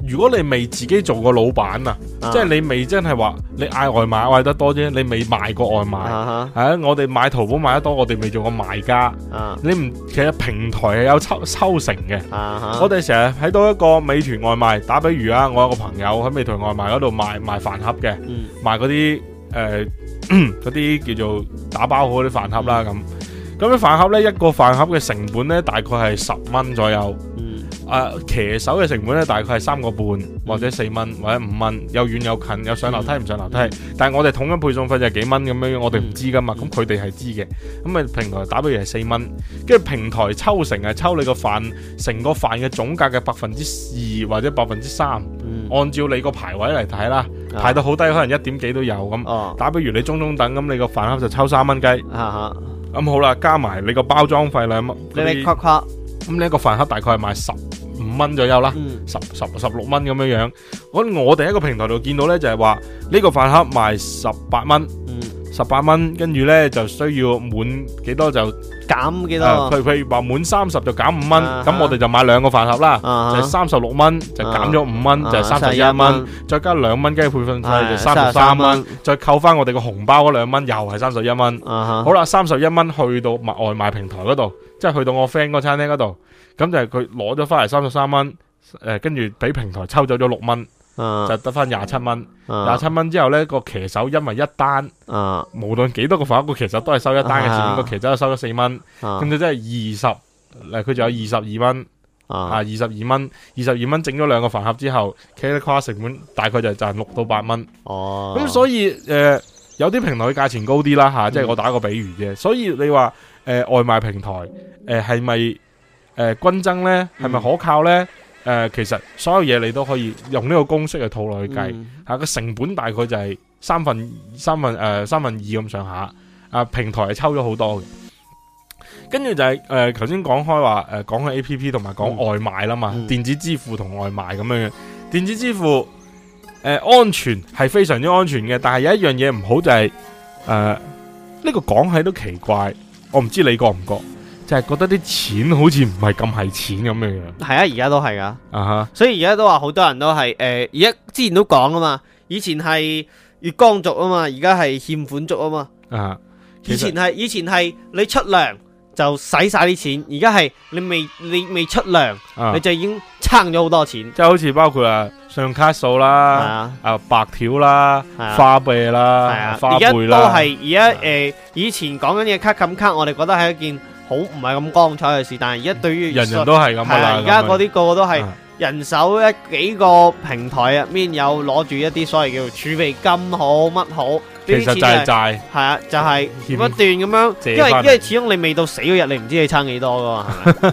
如果你未自己做過老闆啊，即係你未真係話你嗌外賣嗌得多啫，你未賣過外賣，係啊，啊，我哋買淘寶買得多，我哋未做過賣家，啊，你唔其實平台係有抽抽成嘅，啊，我哋成日睇到一個美團外賣，打比如啊，我有個朋友喺美團外賣嗰度賣賣飯盒嘅，嗯，賣嗰啲誒嗰啲叫做打包好嗰啲飯盒啦咁。咁樣飯盒咧，一個飯盒嘅成本咧，大概係十蚊左右。嗯。啊，騎手嘅成本咧，大概係三個半或者四蚊或者五蚊，有遠有近，有上樓梯唔上樓梯。嗯、但係我哋統一配送費就係幾蚊咁樣，我哋唔知噶嘛。咁佢哋係知嘅。咁啊，平台打比如係四蚊，跟住平台抽成係抽你個飯成個飯嘅總價嘅百分之二或者百分之三。嗯。按照你個排位嚟睇啦，啊、排到好低可能一點幾都有咁。哦。打比如你中中等咁，你個飯盒就抽三蚊雞。啊咁、嗯、好啦，加埋你個包裝費兩蚊， 你你夸夸， 咁呢一個飯盒大概係賣十五蚊左右啦，嗯、十十十六蚊咁樣樣。咁我哋喺個平台度見到呢，就係話呢個飯盒賣十八蚊，十八蚊，跟住呢就需要滿幾多就減幾多。 佢譬如話滿三十就減五蚊，咁、啊、我哋就買兩個飯盒啦，啊、就三十六蚊，就減咗五蚊，就三十一蚊，再加兩蚊雞配份費就三十三蚊，再扣翻我哋個紅包嗰兩蚊，又係三十一蚊。好啦，三十一蚊去到外賣平台嗰度，即係去到我 friend 嗰餐廳嗰度，咁就係佢攞咗翻嚟三十三蚊，誒，跟住俾平台抽走咗六蚊。Uh, 就得翻廿七蚊，廿七蚊之後呢個騎手因為一單，uh, 無論幾多個飯盒，個騎手都係收一單嘅錢，個、uh, 騎手就收咗四蚊，咁就真係二十，佢就有二十二蚊，啊二十二蚊，二十二蚊整咗兩個飯盒之後，企喺跨成本大概就賺六到八蚊，哦，咁所以誒、呃、有啲平台嘅價錢高啲啦吓，即係、嗯、我打個比喻啫，所以你話誒、呃、外賣平台誒係咪誒均增呢？係咪可靠呢？誒、呃，其實所有嘢你都可以用呢個公式去套落去計，吓個、嗯、成本大概就係三分三分誒、呃、三分二咁上下，啊平台係抽咗好多嘅，跟住就係誒頭先講開話誒講開 A P P 同埋講外賣啦嘛，嗯、電子支付同外賣咁樣樣，電子支付誒、呃、安全係非常之安全嘅，但係有一樣嘢唔好就係誒呢個講起都奇怪，我唔知你覺唔覺？就係覺得啲錢好似唔係咁係錢咁樣樣。係啊，而家都係噶。啊哈。所以而家都話好多人都係誒，而、呃、家之前都講啊嘛，以前係月光族啊嘛，而家係欠款族啊嘛。啊。以前係以前係你出糧就使晒啲錢，而家係你未你未出糧，啊、你就已經撐咗好多錢。即係好似包括啊信用卡數啦，啊，啊白條啦，啊、花唄啦，啊、花唄啦。而家都係而家誒，以前講緊嘅卡冚卡，我哋覺得係一件好唔係咁光彩嘅事，但係而家對於人人都係咁噶啦，而家嗰啲個個都係人手一幾個平台入面有攞住一啲所謂叫做儲備金好乜好，其實就係債，係啊，就係不斷咁樣，因為因為始終你未到死嗰日，你唔知你撐幾多噶嘛，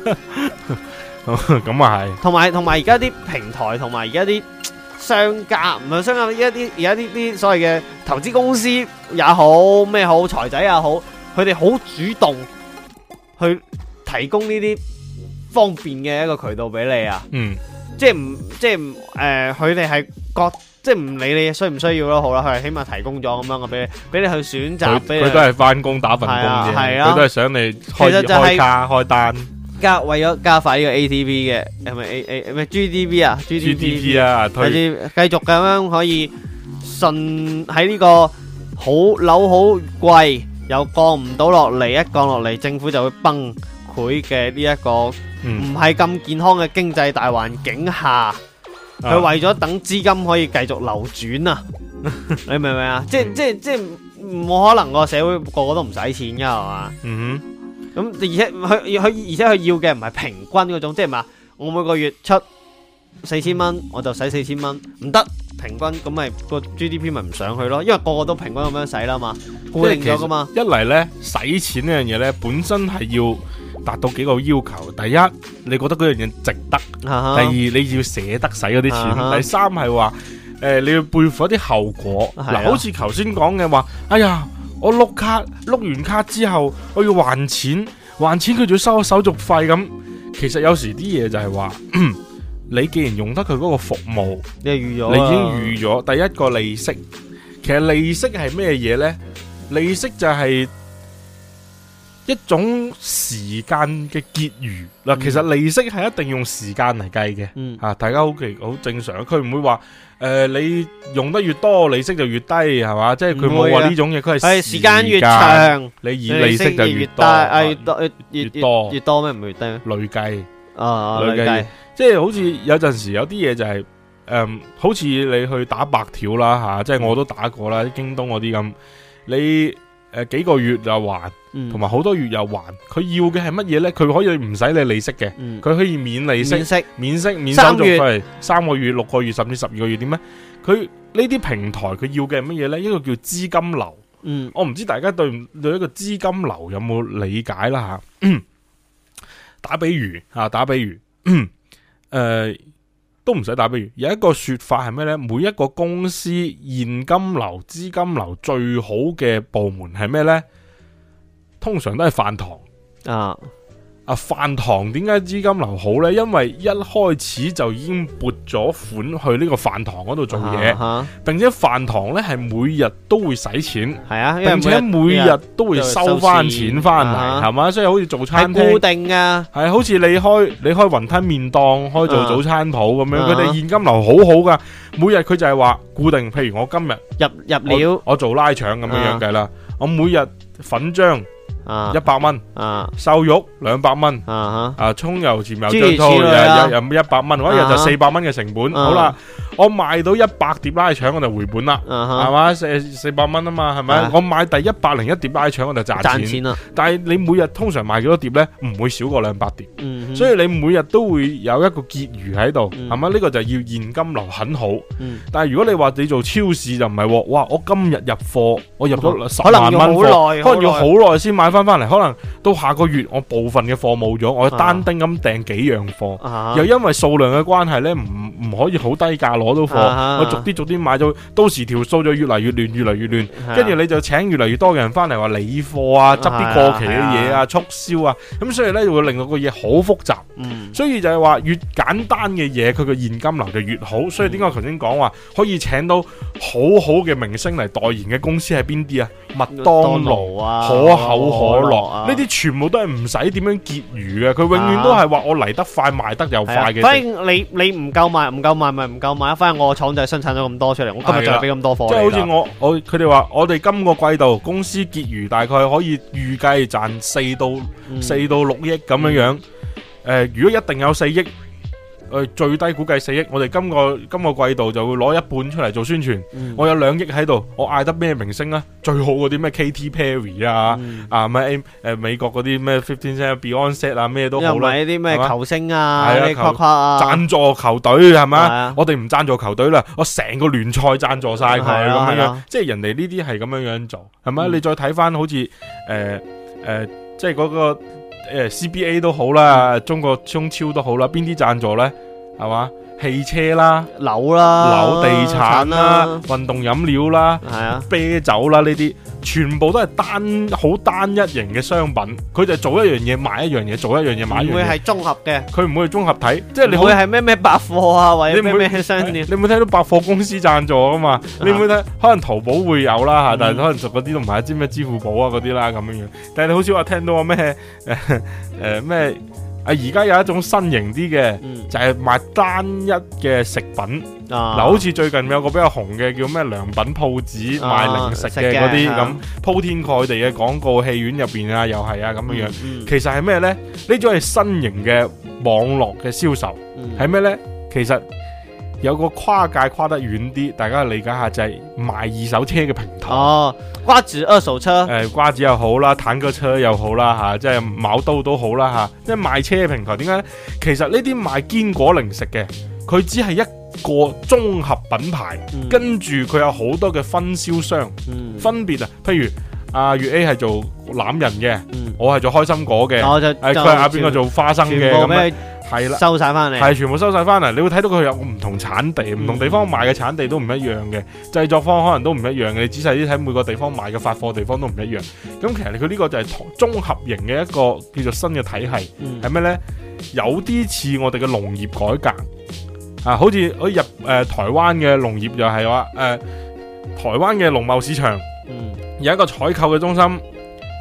咁啊係。同埋同埋而家啲平台同埋而家啲商家唔係商家，而家啲而家啲啲所謂嘅投資公司也好咩好財仔也好，佢哋好主動去提供呢啲方便嘅一個渠道俾你啊，嗯，即係唔即係唔誒，佢哋係覺即係唔理你需唔需要咯，好啦，佢係起碼提供咗咁樣嘅俾你，俾你去選擇，佢佢都係翻工打份工啫，係啊，佢都係想你開開卡開單，加為咗加快呢個 A T V 嘅係咪 A A 咩 G D P 啊 G D P 啊，推繼續咁樣可以順喺呢個好樓好貴。又降唔到落嚟，一降落嚟，政府就會崩潰嘅呢一個唔係咁健康嘅經濟大環境下，佢、啊、為咗等資金可以繼續流轉啊！你明唔明啊？即係即係即係冇可能個社會個個都唔使錢噶係嘛？嗯哼，咁而且佢佢而且佢要嘅唔係平均嗰種，即係嘛？我每個月出四千蚊，我就使四千蚊，唔得。平均咁咪個 G D P 咪唔上去咯，因為個個都平均咁樣使啦嘛，固定咗噶嘛。一嚟呢，使錢呢樣嘢呢，本身係要達到幾個要求。第一，你覺得嗰樣嘢值得；第二，你要捨得使嗰啲錢；第三係話，誒，你要背負一啲後果。嗱，好似頭先講嘅話，哎呀，我碌卡碌完卡之後，我要還錢，還錢佢仲要收手續費咁。其實有時啲嘢就係話。你既然用得佢嗰個服務，你預咗，你已經預咗。第一個利息，其實利息係咩嘢呢？利息就係一種時間嘅結餘嗱，其實利息係一定用時間嚟計嘅， 嗯啊，大家好奇好正常，佢唔會話誒、呃、你用得越多，利息就越低，係嘛？即係佢冇話呢種嘢，佢係時間越長， 你以利息就越多， 啊越多越越多越多咩？唔係越低咩？ 累計啊， 累計，即係好似有陣時有啲嘢就係、是、誒、嗯，好似你去打白條啦吓，即係我都打過啦，京東嗰啲咁，你誒、呃、幾個月就還。同埋好多月又還，佢要嘅係乜嘢呢？佢可以唔使你利息嘅，佢、嗯、可以免利息、免息、免息、免手續費，三個月、六個月甚至十二個月點呢？佢呢啲平台佢要嘅係乜嘢呢？一個叫資金流。嗯，我唔知大家對對一個資金流有冇理解啦吓。打比喻啊，打比喻，誒、呃，都唔使打比喻。有一個說法係咩呢？每一個公司現金流、資金流最好嘅部門係咩呢？通常都係飯堂啊！啊飯堂點解資金流好呢？因為一開始就已經撥咗款去呢個飯堂嗰度做嘢，啊啊，並且飯堂呢係每日都會使錢，係啊，並且每日都會收翻錢翻嚟，係嘛，啊？所以好似做餐廳係固定噶，係好似你開你開雲吞麵檔，開做早餐鋪咁樣，佢，啊，哋現金流好好噶。每日佢就係話固定，譬如我今日入入料，我，我做拉腸咁樣樣計啦，啊，我每日粉漿。啊，一百蚊，啊，瘦肉兩百蚊，啊啊，蔥油鹽油醬醋又又一百蚊，我一日就四百蚊嘅成本，啊，好啦，我賣到一百碟拉腸我就回本啦，係，啊，嘛，四四百蚊啊嘛，係咪，啊？我買第一百零一碟拉腸我就賺錢，賺錢啦。但係你每日通常賣幾多碟呢？唔會少過兩百碟，嗯，所以你每日都會有一個結餘喺度，係，嗯，嘛？呢，這個就要現金流很好，嗯，但係如果你話你做超市就唔係，哇！我今日入貨，我入咗十萬蚊貨，可能要好耐先買翻翻嚟，可能到下個月我部分嘅貨冇咗，我單丁咁訂幾樣貨，啊，又因為數量嘅關係呢，唔唔可以好低價攞到貨，啊，我逐啲逐啲買咗，到時條數就越嚟越亂，越嚟越亂，跟住，啊，你就請越嚟越多嘅人翻嚟話理貨啊，執啲過期嘅嘢啊，促銷啊，咁所以呢，就會令到個嘢好複雜，嗯，所以就係話越簡單嘅嘢，佢個現金流就越好，所以點解我頭先講話可以請到好好嘅明星嚟代言嘅公司係邊啲啊？麥當勞啊，可口可樂啊，呢啲全部都係唔使點樣結餘嘅，佢永遠都係話我嚟得快賣得又快嘅。反正你你唔夠賣唔夠賣咪唔夠賣，反正我廠就係生產咗咁多出嚟，我今日就係俾咁多貨。即係好似我我佢哋話我哋今個季度公司結餘大概可以預計賺四到四到六億咁樣樣。誒，如果一定有四億。誒，最低估計四億，我哋今個今個季度就會攞一半出嚟做宣傳，嗯。我有兩億喺度，我嗌得咩明星啊？最好嗰啲咩 Katy Perry 啊，嗯、啊咩誒美國嗰啲咩 Fifteen Cent、Beyonce 啊，咩都好啦。又唔係啲咩球星啊，啲誇誇啊，贊助球隊係咪？啊、我哋唔贊助球隊啦，我成個聯賽贊助晒佢咁樣，即係人哋呢啲係咁樣樣做，係咪？嗯、你再睇翻好似誒誒，即係嗰個。誒 C B A 都好啦，中國中超都好啦，邊啲贊助呢？係嘛？汽車啦、樓啦、樓地產啦、運動飲料啦、係啊、啤酒啦，呢啲全部都係單好單一型嘅商品，佢就做一樣嘢賣一樣嘢，做一樣嘢買一樣嘢。唔會係綜合嘅，佢唔會係綜合體，即係你會係咩咩百貨啊，或者咩咩商店。你唔會睇到百貨公司贊助啊嘛？你唔會睇，可能淘寶會有啦嚇，但係可能熟嗰啲都唔係，知咩支付寶啊嗰啲啦咁樣樣。但係你好少話聽到話咩誒誒咩？啊！而家有一種新型啲嘅，嗯、就係賣單一嘅食品。嗱、啊，好似最近有個比較紅嘅叫咩良品鋪子賣零食嘅嗰啲咁，鋪天蓋地嘅廣告，戲院入邊啊，又係啊咁樣樣。嗯嗯、其實係咩呢？呢種係新型嘅網絡嘅銷售，係咩、嗯、呢？其實有個跨界跨得遠啲，大家理解下就係賣二手車嘅平台。哦，瓜子二手車，誒、呃，瓜子又好啦，坦克車又好啦，吓、啊，即係卯刀都好啦，吓、啊，即係賣車嘅平台。點解？其實呢啲賣堅果零食嘅，佢只係一個綜合品牌，嗯、跟住佢有好多嘅分銷商，嗯、分別啊，譬如阿月 A 係做欖仁嘅，嗯、我係做開心果嘅，誒，佢係阿邊個做花生嘅咁樣。係啦，收晒翻嚟，係全部收晒翻嚟。你會睇到佢有唔同產地，唔、嗯、同地方賣嘅產地都唔一樣嘅，製作方可能都唔一樣嘅。你仔細啲睇，每個地方賣嘅發貨地方都唔一樣。咁其實佢呢個就係綜合型嘅一個叫做新嘅體系，係咩、嗯、呢？有啲似我哋嘅農業改革啊，好似好似入誒、呃、台灣嘅農業就係話誒台灣嘅農貿市場，嗯、有一個採購嘅中心。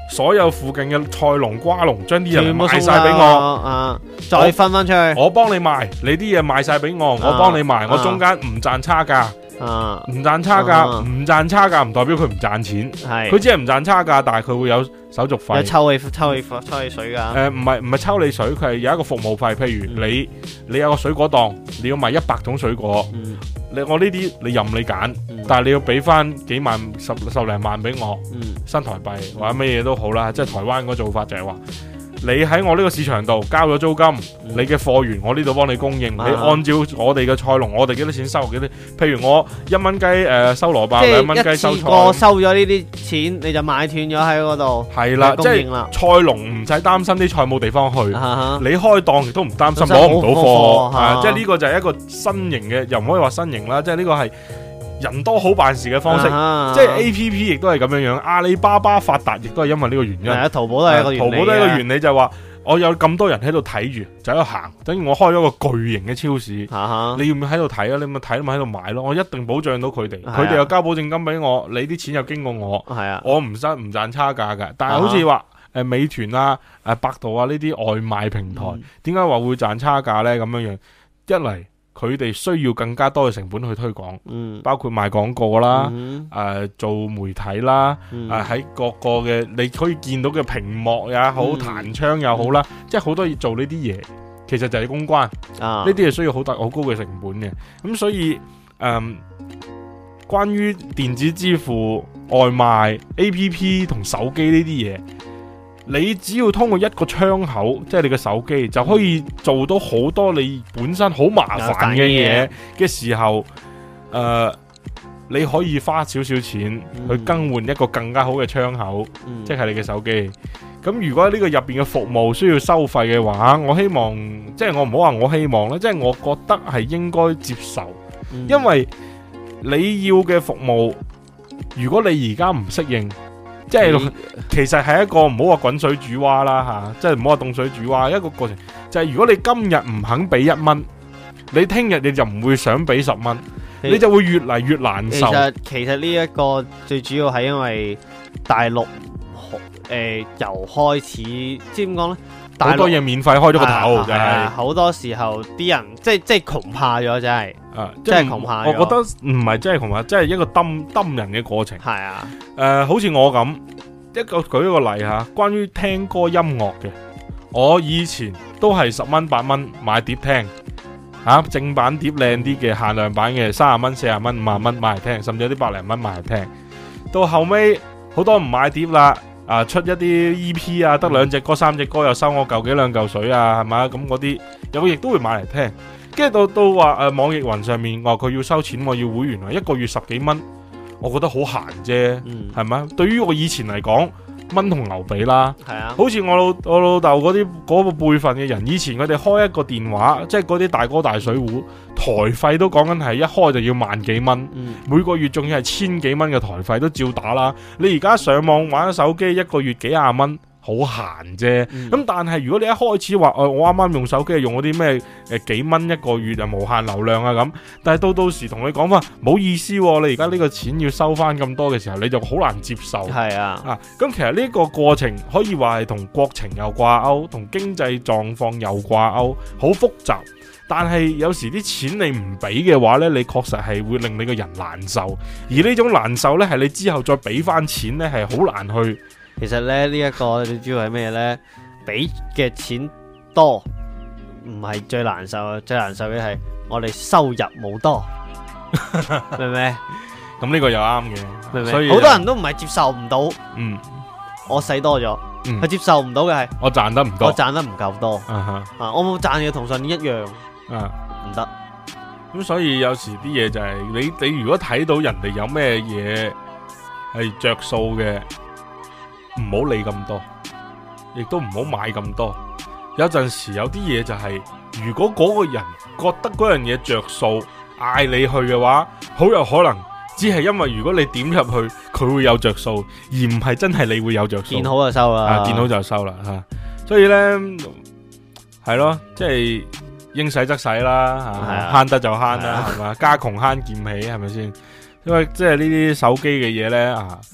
所有附近嘅菜農瓜農將啲人賣全部送晒俾我， 啊，再分翻出去， 我幫你賣，你啲嘢賣晒俾我，我幫你賣， 啊我中間唔賺差價。 啊， 唔賺差價，唔賺差價唔代表佢唔賺錢， 係佢只係唔賺差價，但係佢會有手續費， 有抽氣抽氣抽氣水噶。 誒唔係唔係抽你水，佢係有一個服務費。譬如你你有個水果檔，你要賣一百種水果， 嗯你我呢啲你任你揀， 嗯但係你要俾翻幾萬十十零萬俾我嗯新台幣或者乜嘢都好啦，即係台灣嗰個做法就係話。你喺我呢個市場度交咗租金， 嗯、 你嘅貨源我呢度幫你供應， 啊、 你按照我哋嘅菜農，我哋幾多錢收幾多？譬如我一蚊雞誒收蘿蔔，兩蚊雞收菜， 即係一次過收咗呢啲錢，你就買斷咗喺嗰度。 係啦，即係菜農唔使擔心啲菜冇地方去， 啊、 你開檔亦都唔擔心攞唔到貨， 啊、 即係呢個就係一個新型嘅，又唔可以話新型啦，即係呢個係。人多好辦事嘅方式，啊、即係 A P P 亦都係咁樣樣。阿里巴巴發達亦都係因為呢個原因。 係啊，淘寶都係一個原理。 淘寶都係一個原理就係話，我有咁多人喺度睇住，就喺度行，等於我開咗個巨型嘅超市。啊、你要唔要喺度睇啊？你咪睇咪喺度買咯。我一定保障到佢哋，佢哋、啊、又交保證金俾我，你啲錢又經過我。係啊，我唔賺唔賺差價㗎。但係好似話誒美團啊、誒百度啊呢啲外賣平台，點解話會賺差價咧？咁樣樣一嚟。佢哋需要更加多嘅成本去推廣，嗯、包括賣廣告啦，誒、嗯呃、做媒體啦，誒喺、嗯呃、各個嘅你可以見到嘅屏幕也好，嗯、彈窗又好啦，嗯、即係好多嘢做呢啲嘢，其實就係公關，呢啲係需要好大好高嘅成本嘅。咁所以誒、呃，關於電子支付、外賣、A P P 同手機呢啲嘢。你只要通過一個窗口，即係你嘅手機，就可以做到好多你本身好麻煩嘅嘢嘅時候，誒、呃，你可以花少少錢去更換一個更加好嘅窗口，嗯、即係你嘅手機。咁如果呢個入邊嘅服務需要收費嘅話，我希望，即係我唔好話我希望啦，即係我覺得係應該接受，嗯、因為你要嘅服務，如果你而家唔適應。即係、嗯、其實係一個唔好話滾水煮蛙啦吓，即係唔好話凍水煮蛙，一個過程就係、是、如果你今日唔肯俾一蚊，你聽日你就唔會想俾十蚊，你，你就會越嚟越難受。 其實其實呢一個最主要係因為大陸誒、呃、由開始，知點講咧？ 好多嘢免費開咗個頭，就係好多時候啲人即係即係窮怕咗，真係啊， 即係窮怕咗。 我覺得唔係真係窮怕，即係一個抌抌人嘅過程。 係啊，誒、 呃，好似我咁一個舉一個例吓，關於聽歌音樂嘅，我以前都係十蚊八蚊買碟聽，吓、啊、正版碟靚啲嘅限量版嘅三十蚊四十蚊五十蚊買嚟聽，甚至有啲百零蚊買嚟聽。到後尾好多唔買碟啦。啊！出一啲 E P 啊，得兩隻歌、三隻歌又收我嚿幾兩嚿水啊，係咪？咁嗰啲有亦都會買嚟聽。跟住到到話誒網易雲上面話佢要收錢，我要會員啊，一個月十幾蚊，我覺得好閒啫，係咪、嗯？對於我以前嚟講，蚊同牛比啦，係啊，好似我老我老豆嗰啲嗰個輩份嘅人，以前佢哋開一個電話，即係嗰啲大哥大水壺，台費都講緊係一開就要萬幾蚊，嗯、每個月仲要係千幾蚊嘅台費都照打啦。你而家上網玩手機，一個月幾廿蚊。好閒啫，咁、嗯、但係如果你一開始話，誒、呃、我啱啱用手機係用嗰啲咩誒幾蚊一個月啊無限流量啊咁，但係到到時同你講翻，冇意思、啊，你而家呢個錢要收翻咁多嘅時候，你就好難接受。係啊，啊咁其實呢個過程可以話係同國情又掛鈎，同經濟狀況又掛鈎，好複雜。但係有時啲錢你唔俾嘅話呢，你確實係會令你個人難受，而呢種難受呢，係你之後再俾翻錢呢，係好難去。 其實咧呢一個你知道係咩呢？俾嘅錢多唔係最難受，最難受嘅係我哋收入冇多，明唔明？ 咁呢個又啱嘅， 明唔明？ 所以好多人都唔係接受唔到， 嗯， 我使多咗，佢、嗯、接受唔到嘅係我賺得唔多， 我賺得唔夠多， 啊哈， 啊，我冇賺嘅同上年一樣，啊，唔得。 咁所以有時啲嘢就係、是、你你如果睇到人哋有咩嘢係着數嘅。唔好理咁多，亦都唔好買咁多。有陣時有啲嘢就係、是，如果嗰個人覺得嗰樣嘢着數，嗌你去嘅話，好有可能只係因為如果你點入去，佢會有着數，而唔係真係你會有着數。 見好就收啦， 啊，見好就收啦吓、啊。所以呢，係咯，即係應使則使啦，吓慳、啊、得就慳啦，係嘛，家窮慳儉起，係咪先？因為即係呢啲手機嘅嘢呢。啊。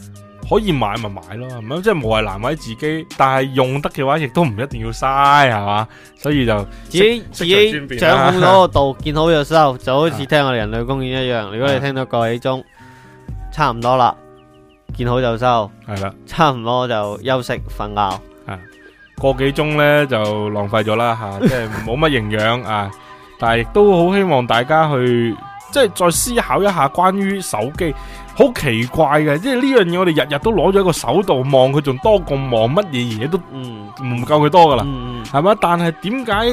可以買咪買咯，係咪？即係無謂難為自己，但係用得嘅話，亦都唔一定要嘥，係嘛？所以就自己自己掌控嗰個度，見好就收，就好似聽我哋人類公園一樣。如果你聽到個幾鐘，差唔多啦，見好就收，係啦，差唔多就休息瞓覺。 啊，個幾鐘咧就浪費咗啦吓，即係冇乜營養啊！但係亦都好希望大家去。即係再思考一下關於手機，好奇怪嘅，即係呢樣嘢我哋日日都攞咗喺個手度望，佢仲多過望乜嘢嘢都唔夠佢多噶啦，係嘛？但係點解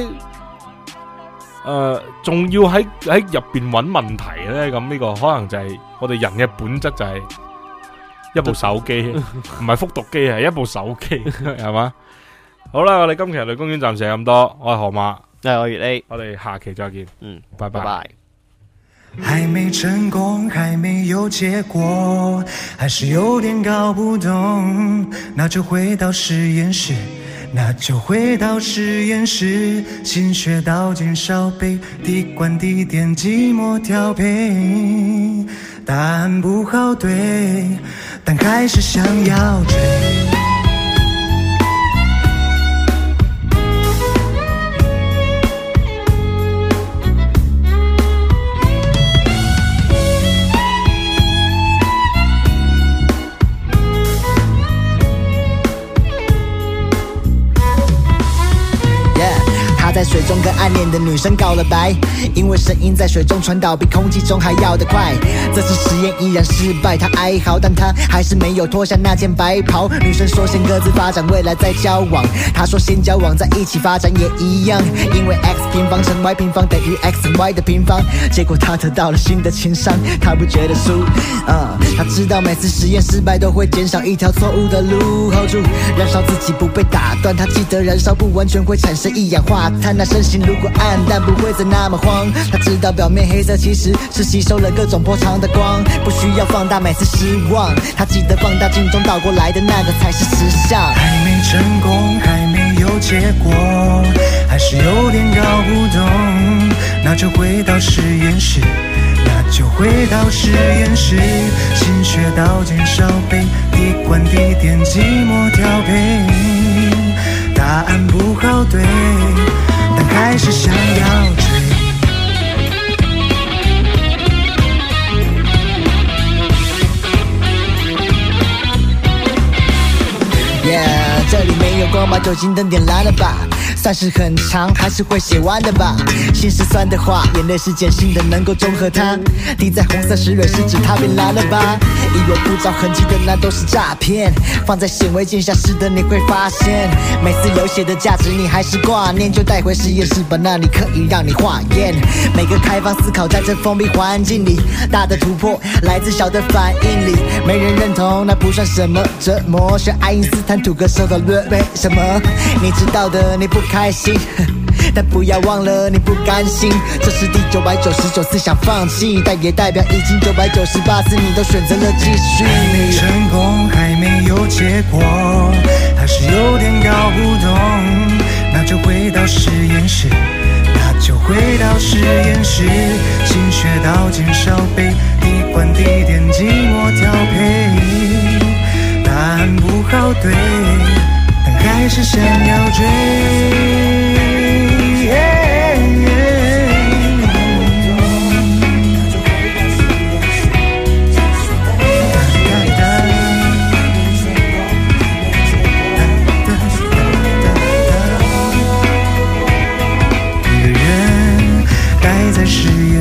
誒仲要喺喺入邊揾問題咧？咁呢個可能就係我哋人嘅本質就係一部手機，唔係復讀機，係一部手機，係嘛？好啦，我哋今期人類公園暫時係咁多，我係河馬， 係我月 A， 我哋下期再見， 嗯， 拜拜。 拜拜。 還沒成功，還沒有結果，還是有點搞不懂，那就回到實驗室，那就回到實驗室，心血倒進燒杯，滴灌滴點寂寞調配，答案不好對，但還是想要追。在水中跟暗戀的女生告了白，因為聲音在水中傳導比空氣中還要得快。這次實驗依然失敗，她哀嚎，但她還是沒有脫下那件白袍。女生說先各自發展，未來再交往。她說先交往在一起發展也一樣，因為 x 平方乘 y 平方等於 x y 的平方。結果她得到了新的情商，她不覺得輸。嗯，她知道每次實驗失敗都會減少一條錯誤的路。hold 住，燃燒自己不被打斷。她記得燃燒不完全會產生一氧化碳。那身形如果暗淡不會再那麼慌，他知道表面黑色其實是吸收了各種波長的光，不需要放大每次失望，他記得放大鏡中倒過來的那個才是實相。還沒成功，還沒有結果，還是有點搞不懂，那就回到實驗室，那就回到實驗室，心血倒進燒杯，滴灌滴點寂寞調配，答案不好對，但還是想要追。Yeah， 這裡沒有光，把酒精燈點燃了吧，算是很長，還是會寫完的吧。心是酸的話，眼淚是鹼性的，能夠中和它。滴在紅色石蕊是指它變藍了吧？以為不着痕跡的那都是詐騙，放在顯微鏡下試的你會發現，每次有寫的價值你還是掛念，就帶回實驗室吧，那裡可以讓你化驗。每個開放思考在這封閉環境裡，大的突破來自小的反應裡，沒人認同那不算什麼折磨，學愛因斯坦吐個舌頭論為什麼？你知道的你不開心，但不要忘了你不甘心，這是第九百九十九次想放棄，但也代表已經九百九十八次你都選擇了繼續。還沒成功，還沒有結果，還是有點搞不懂，那就回到實驗室，那就回到實驗室，心血倒進燒杯，滴灌滴點寂寞調配，答案不好對，但還是想要追。一個人待在實驗